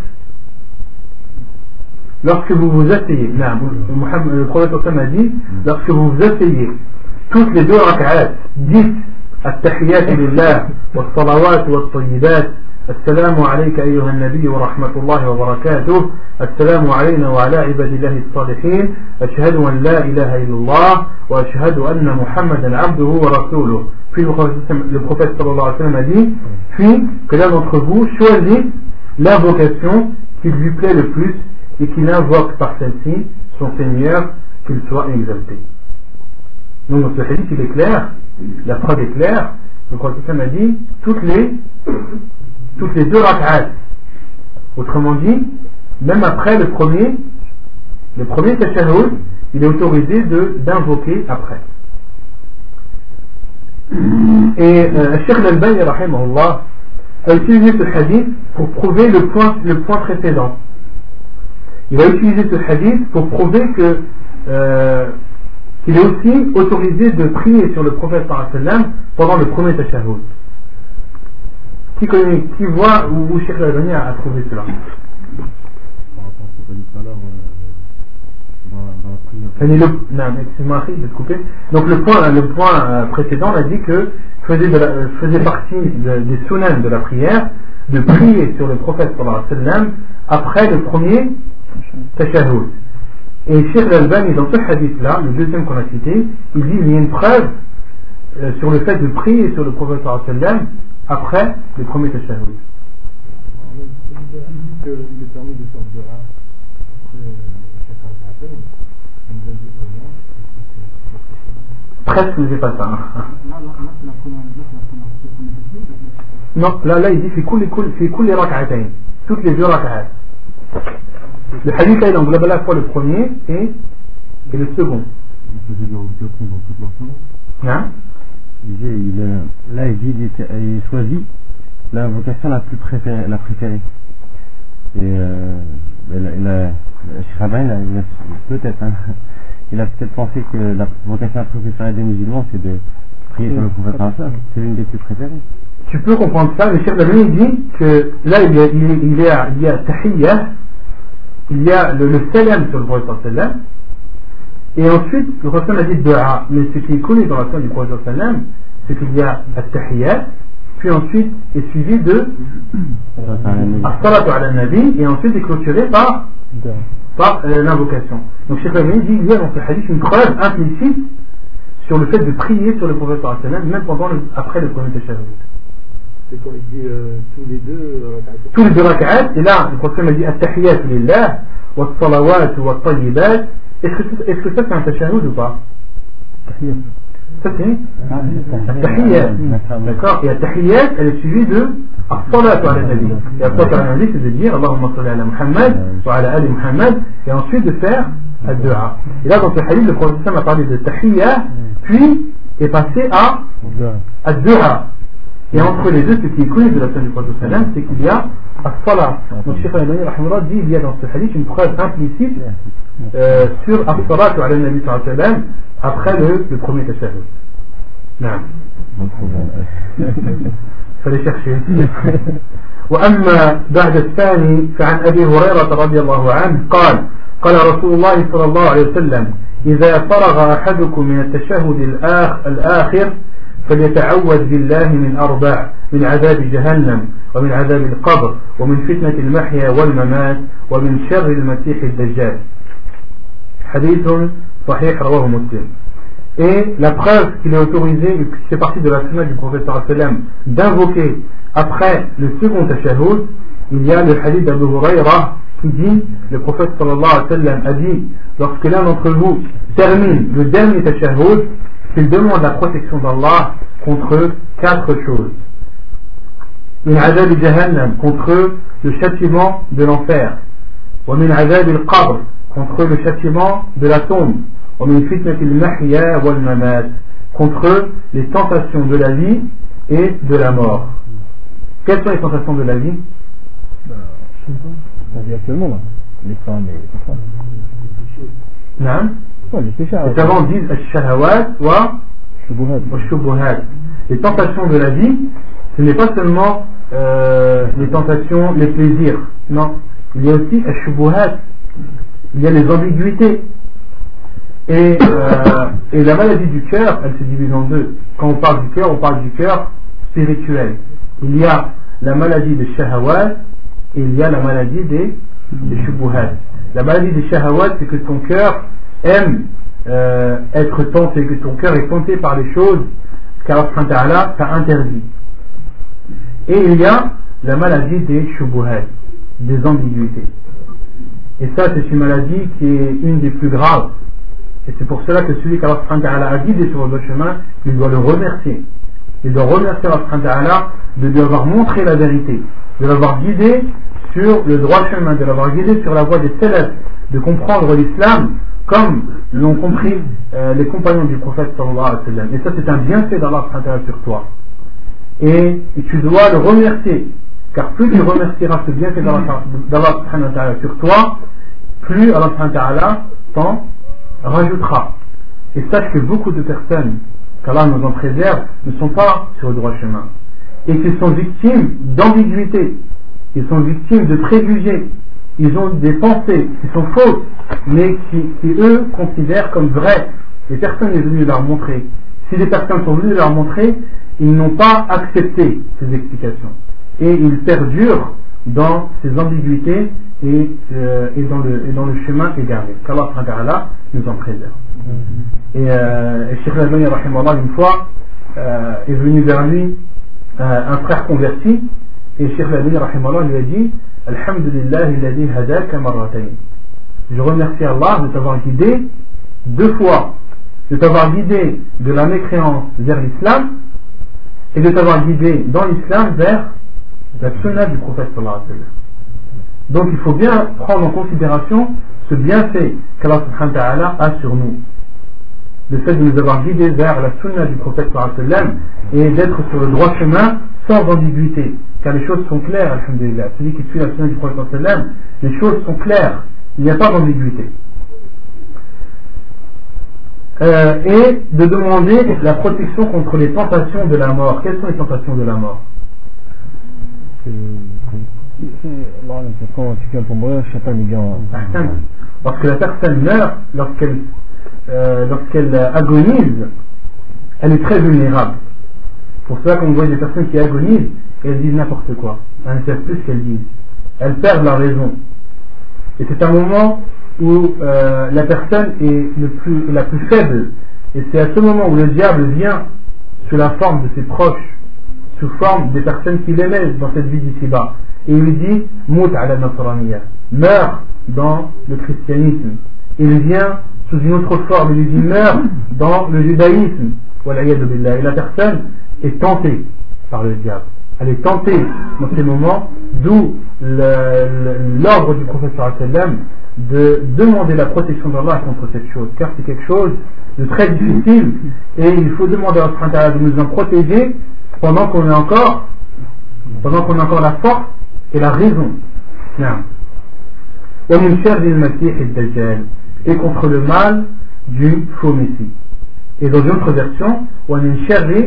Speaker 1: lorsque vous vous asseyez, le prophète a dit, lorsque vous vous asseyez, toutes les deux rak'at, dites التحيات لله والصلوات والطيبات السلام عليك أيها النبي ورحمة الله وبركاته السلام علينا وعلى عباد الله الصالحين أشهد أن لا إله إلا الله وأشهد أن محمدا عبده ورسوله. Puis le prophète sallallahu alayhi wa sallam a dit, puis que l'un d'entre vous choisit l'invocation qui lui plaît le plus et qu'il invoque par celle-ci son Seigneur, qu'il soit exalté. Donc dans ce hadith il est clair, la preuve est claire, le prophète a dit toutes les deux rak'at. Autrement dit, même après le premier tashahhud, il est autorisé d'invoquer après. Et Cheikh Al-Albani rahimahullah a utilisé ce hadith pour prouver le point précédent. Il a utilisé ce hadith pour prouver qu'il est aussi autorisé de prier sur le prophète sallallahu alayhi wa sallam pendant le premier tashahhud. Qui voit où Cheikh Al-Albani a trouvé cela? Donc le point précédent, on a dit que faisait partie des sunan de la prière de prier sur le prophète sallallahu alayhi wa sallam après le premier tashahhud. Et Cheikh Al-Albani, dans ce hadith-là, le deuxième qu'on a cité, il dit qu'il y a une preuve sur le fait de prier sur le prophète sallam après le premier tashahhud.
Speaker 5: Il est permis de faire de rare.
Speaker 1: Presque, mais c'est pas ça. Non, là il dit في كل ركعتين, toutes les deux rak'at. Le hadith là il englobe à la fois le premier et le second. Hein?
Speaker 3: Là il choisit l'invocation la préférée. Et Cheikh Rabain, peut-être, hein, il a peut-être pensé que la vocation préférée des musulmans c'est de prier sur le prophète, c'est l'une des plus préférées.
Speaker 1: Tu peux comprendre ça, mais Cheikh Rabain dit que là il y a tahiyya, il y a le salam sur le prophète sallam, et ensuite le prophète a dit dua. Mais ce qui est connu dans la fin du prophète sallam, c'est qu'il y a tahiyya, puis ensuite est suivi de as-salatu ala nabi, et ensuite est clôturé par l'invocation. Donc Cheikh Rabain dit il y a dans ce hadith une preuve implicite sur le fait de prier sur le prophète sallam, même après le premier tashahhud.
Speaker 5: C'est quand il dit
Speaker 1: tous les deux rak'at, et là le prophète a dit at-tahiyyatu lillah wa as-salawatu wa at-tayyibat. Est-ce que ça c'est un tashahhud ou pas? Ça c'est at-tahiyyat. D'accord? Et at-tahiyyat elle est suivie de as-salatu ala nabi. Et as-salatu ala nabi c'est de dire Allahumma salli ala Muhammad wa ala ali Muhammad, et ensuite de faire ad-du'a. Et là dans ce hadith le prophète a parlé de tahiyya, puis est passé à ad-du'a. Et entre les deux, ce qui est connu de la sunna du prophète sallam, c'est qu'il y a as-salat. Donc Cheikh Al-Albani rahimahullah dit il y a dans ce hadith une preuve implicite sur as-salatu ala nabi sallam après le premier tashahhud. Non. Fallait chercher. وأما بعد الثاني فعن أبي هريرة رضي الله عنه قال رسول الله صلى الله عليه وسلم إذا فرغ أحدكم من التشهد الآخر فليتعوذ بالله من أربع: من عذاب جهنم ومن عذاب القبر ومن فتنة المحيا والممات ومن شر المسيح الدجال. حديث صحيح رواه مسلم. Et la preuve qu'il est autorisé, que c'est partie de la sunna du prophète sallam d'invoquer après le second tashahhud, il y a le hadith d'Abu Huraira qui dit, le prophète sallallahu alayhi wa sallam a dit, lorsque l'un d'entre vous termine le dernier tashahhud, qu'il demande la protection d'Allah contre quatre choses. Min azab jahannam, contre le châtiment de l'enfer. Wa min azab al-qabr, contre le châtiment de la tombe. Wa min fitnat al-mahya wal mamat, contre les tentations de la vie et de la mort. Quelles sont les tentations de la vie?
Speaker 3: On vit actuellement là, les femmes et tout ça.
Speaker 1: Non. Les savants disent al-shahawat wa al-shubuhat. Les tentations de la vie, ce n'est pas seulement les tentations, les plaisirs. Non, il y a aussi al-shubuhat. Il y a les ambiguïtés. Et la maladie du cœur, elle se divise en deux. Quand on parle du cœur spirituel. Il y a la maladie des shahawat et il y a la maladie des shubuhat. La maladie des shahawat, c'est que ton cœur aime être tenté, que ton cœur est tenté par les choses qu'Allah t'a interdit. Et il y a la maladie des shubuhat, des ambiguïtés. Et ça, c'est une maladie qui est une des plus graves. Et c'est pour cela que celui qu'Allah a guidé sur le bon chemin, il doit le remercier. Il doit remercier Allah de lui avoir montré la vérité, de l'avoir guidé sur le droit chemin, de l'avoir guidé sur la voie des salafs, de comprendre l'islam comme l'ont compris les compagnons du prophète sallallahu alayhi wa sallam. Et ça, c'est un bienfait d'Allah sur toi. Et tu dois le remercier, car plus tu remercieras ce bienfait d'Allah sur toi, plus Allah t'en rajoutera. Et sache que beaucoup de personnes, qu'Allah nous en préserve, ne sont pas sur le droit chemin. Et qu'ils sont victimes d'ambiguïté, ils sont victimes de préjugés, ils ont des pensées qui sont fausses, mais qui eux considèrent comme vraies. Les personnes sont venues leur montrer. Si les personnes sont venues leur montrer, ils n'ont pas accepté ces explications. Et ils perdurent dans ses ambiguïtés et dans le chemin égaré. Qu'Allah nous en préserve. Et Cheikh Al-Albani rahimahullah une fois est venu vers lui un frère converti, et Cheikh Al-Albani rahimahullah lui a dit Alhamdulillah alladhi hadaka marratayn. Je remercie Allah de t'avoir guidé 2 fois, de t'avoir guidé de la mécréance vers l'islam et de t'avoir guidé dans l'islam vers la sunna du prophète sallallahu alayhi wa sallam. Donc il faut bien prendre en considération ce bienfait qu'Allah subhanahu wa ta'ala a sur nous, le fait de nous avoir guidés vers la sunna du prophète sallallahu alayhi wa sallam et d'être sur le droit chemin sans ambiguïté, car les choses sont claires, alhamdulillah. Celui qui suit la sunna du prophète sallallahu alayhi wa sallam, les choses sont claires, il n'y a pas d'ambiguïté. Et de demander la protection contre les tentations de la mort. Quelles sont les tentations de la mort? Lorsque la personne meurt, lorsqu'elle agonise, elle est très vulnérable. Pour cela qu'on voit des personnes qui agonisent et elles disent n'importe quoi, elles ne savent plus ce qu'elles disent, elles perdent leur raison. Et c'est un moment où la personne est la plus faible, et c'est à ce moment où le diable vient sous la forme de ses proches, sous forme des personnes qu'il aimait dans cette vie d'ici-bas, et il lui dit Mout ala nasraniya, meurs dans le christianisme. Il vient sous une autre forme, il lui dit meurs dans le judaïsme, et la personne est tentée par le diable. Elle est tentée dans ces moments, d'où l'ordre du prophète sallallahu alayhi wa sallam de demander la protection d'Allah contre cette chose, car c'est quelque chose de très difficile et il faut demander à Allah de nous en protéger pendant qu'on a encore la force et la raison. Et contre le mal du faux messie. Et dans une autre version, dans une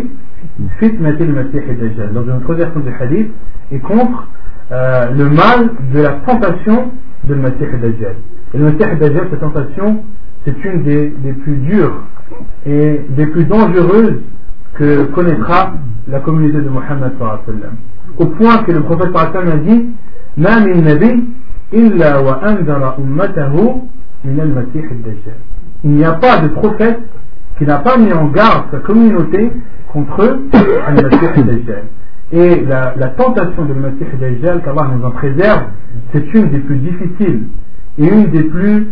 Speaker 1: autre version du hadith, et contre le mal de la tentation de Masih ad-Dajjal. Et le Masih ad-Dajjal, cette tentation, c'est une des plus dures et des plus dangereuses que connaîtra la communauté de Muhammad sallallahu alayhi wa sallam. Au point que le prophète sallallahu alayhi wa sallam a dit Ma min nabi illa wa anzara ummatahu min al-Masih ad-Dajjal. Il n'y a pas de prophète qui n'a pas mis en garde sa communauté contre al-Masih ad-Dajjal. Et la tentation de Masih ad-Dajjal, qu'Allah nous en préserve, c'est une des plus difficiles et une des plus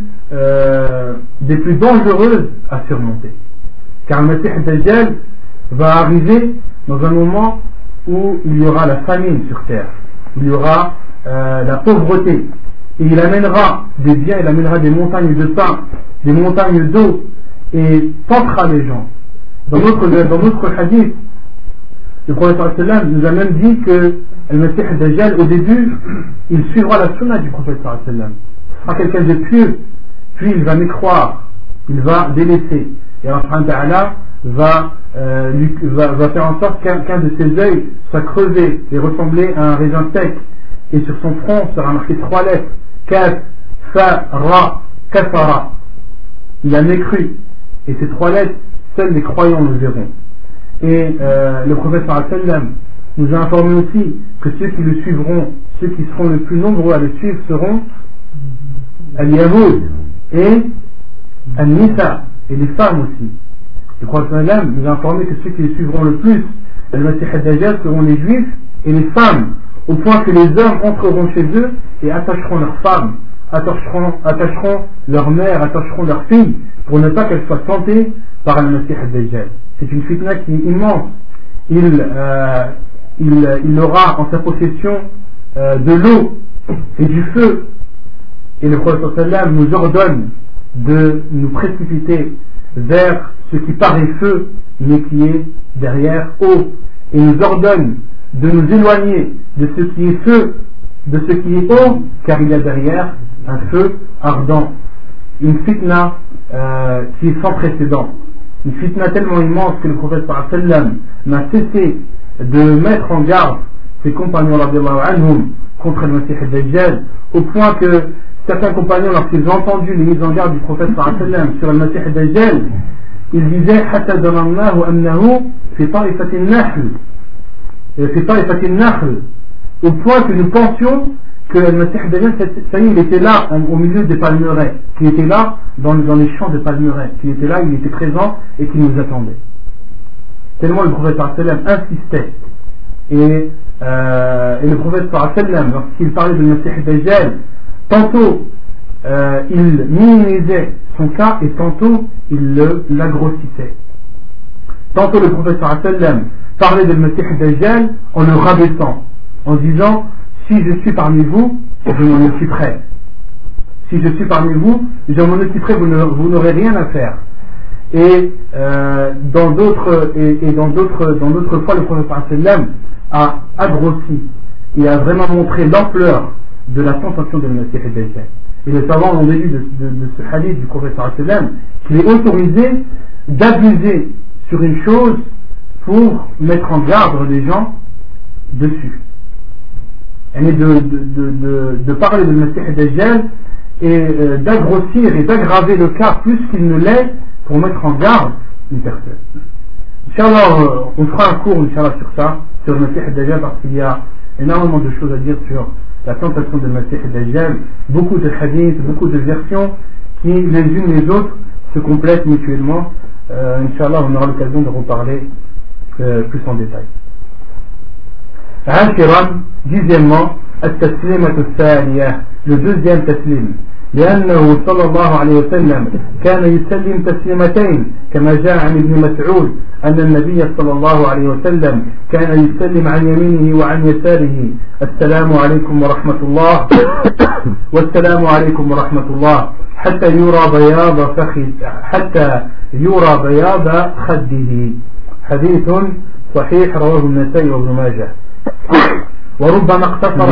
Speaker 1: dangereuses à surmonter. Car le Masih ad-Dajjal va arriver dans un moment où il y aura la famine sur terre, il y aura la pauvreté, et il amènera des biens, il amènera des montagnes de pain, des montagnes d'eau, et tentera les gens. Dans notre hadith, le prophète sallam nous a même dit que le Masih ad-Dajjal, au début, il suivra la sunna du prophète sallam. Ce sera quelqu'un de pieux, puis il va mécroire, il va délaisser. Et Allah va faire en sorte qu'un de ses yeux soit crevé et ressembler à un raisin sec. Et sur son front sera marqué 3 lettres, Kaf, Fa, Ra, Kafara. Il a mécru. Et ces 3 lettres, seuls les croyants le verront. Et le prophète sallam nous a informé aussi que ceux qui le suivront, ceux qui seront le plus nombreux à le suivre seront al-Yahoud et al-Nisa, et les femmes aussi. Le prophète sallam nous a informé que ceux qui le suivront le plus, al-Masih ad-Dajjal, seront les juifs et les femmes, au point que les hommes entreront chez eux et attacheront leurs femmes, attacheront leur mère, attacheront leurs filles, pour ne pas qu'elles soient tentées par al-Masih ad-Dajjal. C'est une fitna qui est immense. Il aura en sa possession de l'eau et du feu. Et le prophète sallam nous ordonne de nous précipiter vers ce qui paraît feu, mais qui est derrière eau. Et nous ordonne de nous éloigner de ce qui est feu, de ce qui est eau, car il y a derrière un feu ardent. Une fitna qui est sans précédent. Une fitna tellement immense que le prophète sallam n'a cessé de mettre en garde ses compagnons anhum contre le Masih ad-Dajjal, au point que certains compagnons, lorsqu'ils ont entendu les mises en garde du prophète sallam sur le Masih ad-Dajjal, ils disaient Hatta zanannahu annahu fi ta'ifati an-nahl, au point que nous pensions que le Messie Dajjal, ça y est, il était là au milieu des palmeraies, qu'il était là dans les champs de palmeraies, qu'il était là, il était présent et qu'il nous attendait. Tellement le prophète sallam insistait. Et le prophète sallam, lorsqu'il parlait de Messie Dajjal, tantôt il minimisait son cas et tantôt il l'agrossissait. Tantôt le prophète sallam parlait de Messie Dajjal en le rabaissant, en disant: si je suis parmi vous, je m'en occuperai. Si je suis parmi vous, je m'en occuperai, vous n'aurez rien à faire. Et dans d'autres fois, le prophète sallam a agrossi et a vraiment montré l'ampleur de la tentation de Messie Dajjal. Et les savants ont déduit de ce hadith du prophète sallam qu'il est autorisé d'abuser sur une chose pour mettre en garde les gens dessus. Et de parler de Messie Dajjal et d'agrossir et d'aggraver le cas plus qu'il ne l'est pour mettre en garde une personne. Inch'Allah, on fera un cours Inch'Allah sur ça, sur le Messie Dajjal, parce qu'il y a énormément de choses à dire sur la tentation de Messie Dajjal, beaucoup de hadiths, beaucoup de versions qui les unes les autres se complètent mutuellement. Inch'Allah, on aura l'occasion de reparler plus en détail. عاشرا dixièmement التسليمة الثانية le deuxième تسليم لأنه صلى الله عليه وسلم كان يسلم تسليمتين كما جاء عن ابن مسعود أن النبي صلى الله عليه وسلم كان يسلم عن يمينه وعن يساره السلام عليكم ورحمة الله والسلام عليكم ورحمة الله حتى يرى بياض خده حديث صحيح رواه النسائي وابن ماجه وربما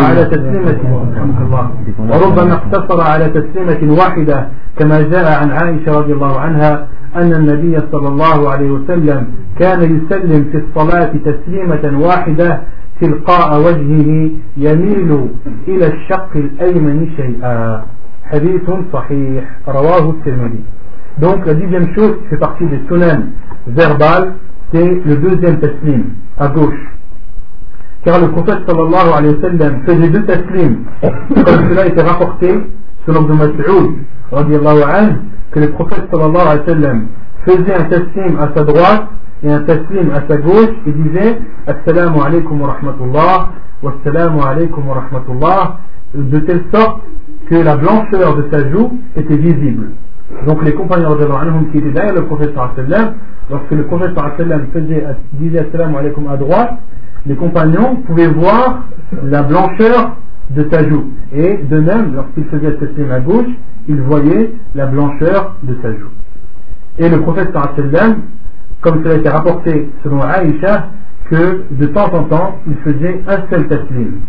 Speaker 1: اقتصر على تسليمة واحدة كما جاء عن عائشة رضي الله عنها أن النبي صلى الله عليه وسلم كان يسلم في الصلاة تسليمة واحدة تلقاء وجهه يميل إلى الشق الأيمن شيئا حديث صحيح رواه الترمذي. Donc la dixième chose qui fait partie des sunan verbales, c'est le deuxième taslim à gauche. Car le prophète sallallahu alayhi wa sallam faisait deux taslims, comme cela était rapporté selon Ibn Mas'ud radiyallahu anhu, que le prophète sallallahu alayhi wa sallam faisait un taslim à sa droite et un taslim à sa gauche et disait assalamu alaykum wa rahmatullah wa assalamu alaykum wa rahmatullah, de telle sorte que la blancheur de sa joue était visible. Donc les compagnons qui étaient derrière le prophète sallallahu alayhi wa sallam, lorsque le prophète sallallahu alayhi wa sallam disait assalamu alaykum à droite, les compagnons pouvaient voir la blancheur de sa joue. Et de même, lorsqu'il faisait le taslim à gauche, ils voyaient la blancheur de sa joue. Et le prophète sallallahu alayhi wa sallam, comme cela a été rapporté selon Aïcha, que de temps en temps, il faisait un seul taslim.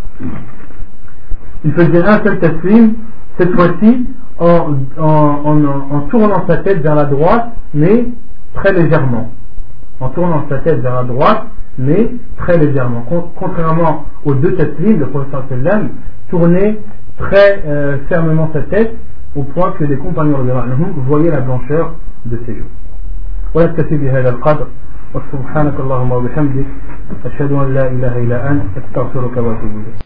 Speaker 1: Il faisait un seul taslim, cette fois-ci, en tournant sa tête vers la droite, mais très légèrement. En tournant sa tête vers la droite, mais très légèrement. Contrairement aux deux taslim, le prophète sallam tournait très fermement sa tête au point que les compagnons voyaient la blancheur de ses joues. ونكتفي بهذا القدر وسبحانك اللهم وبحمدك أشهد أن لا إله إلا أنت أستغفرك وأتوب إليك.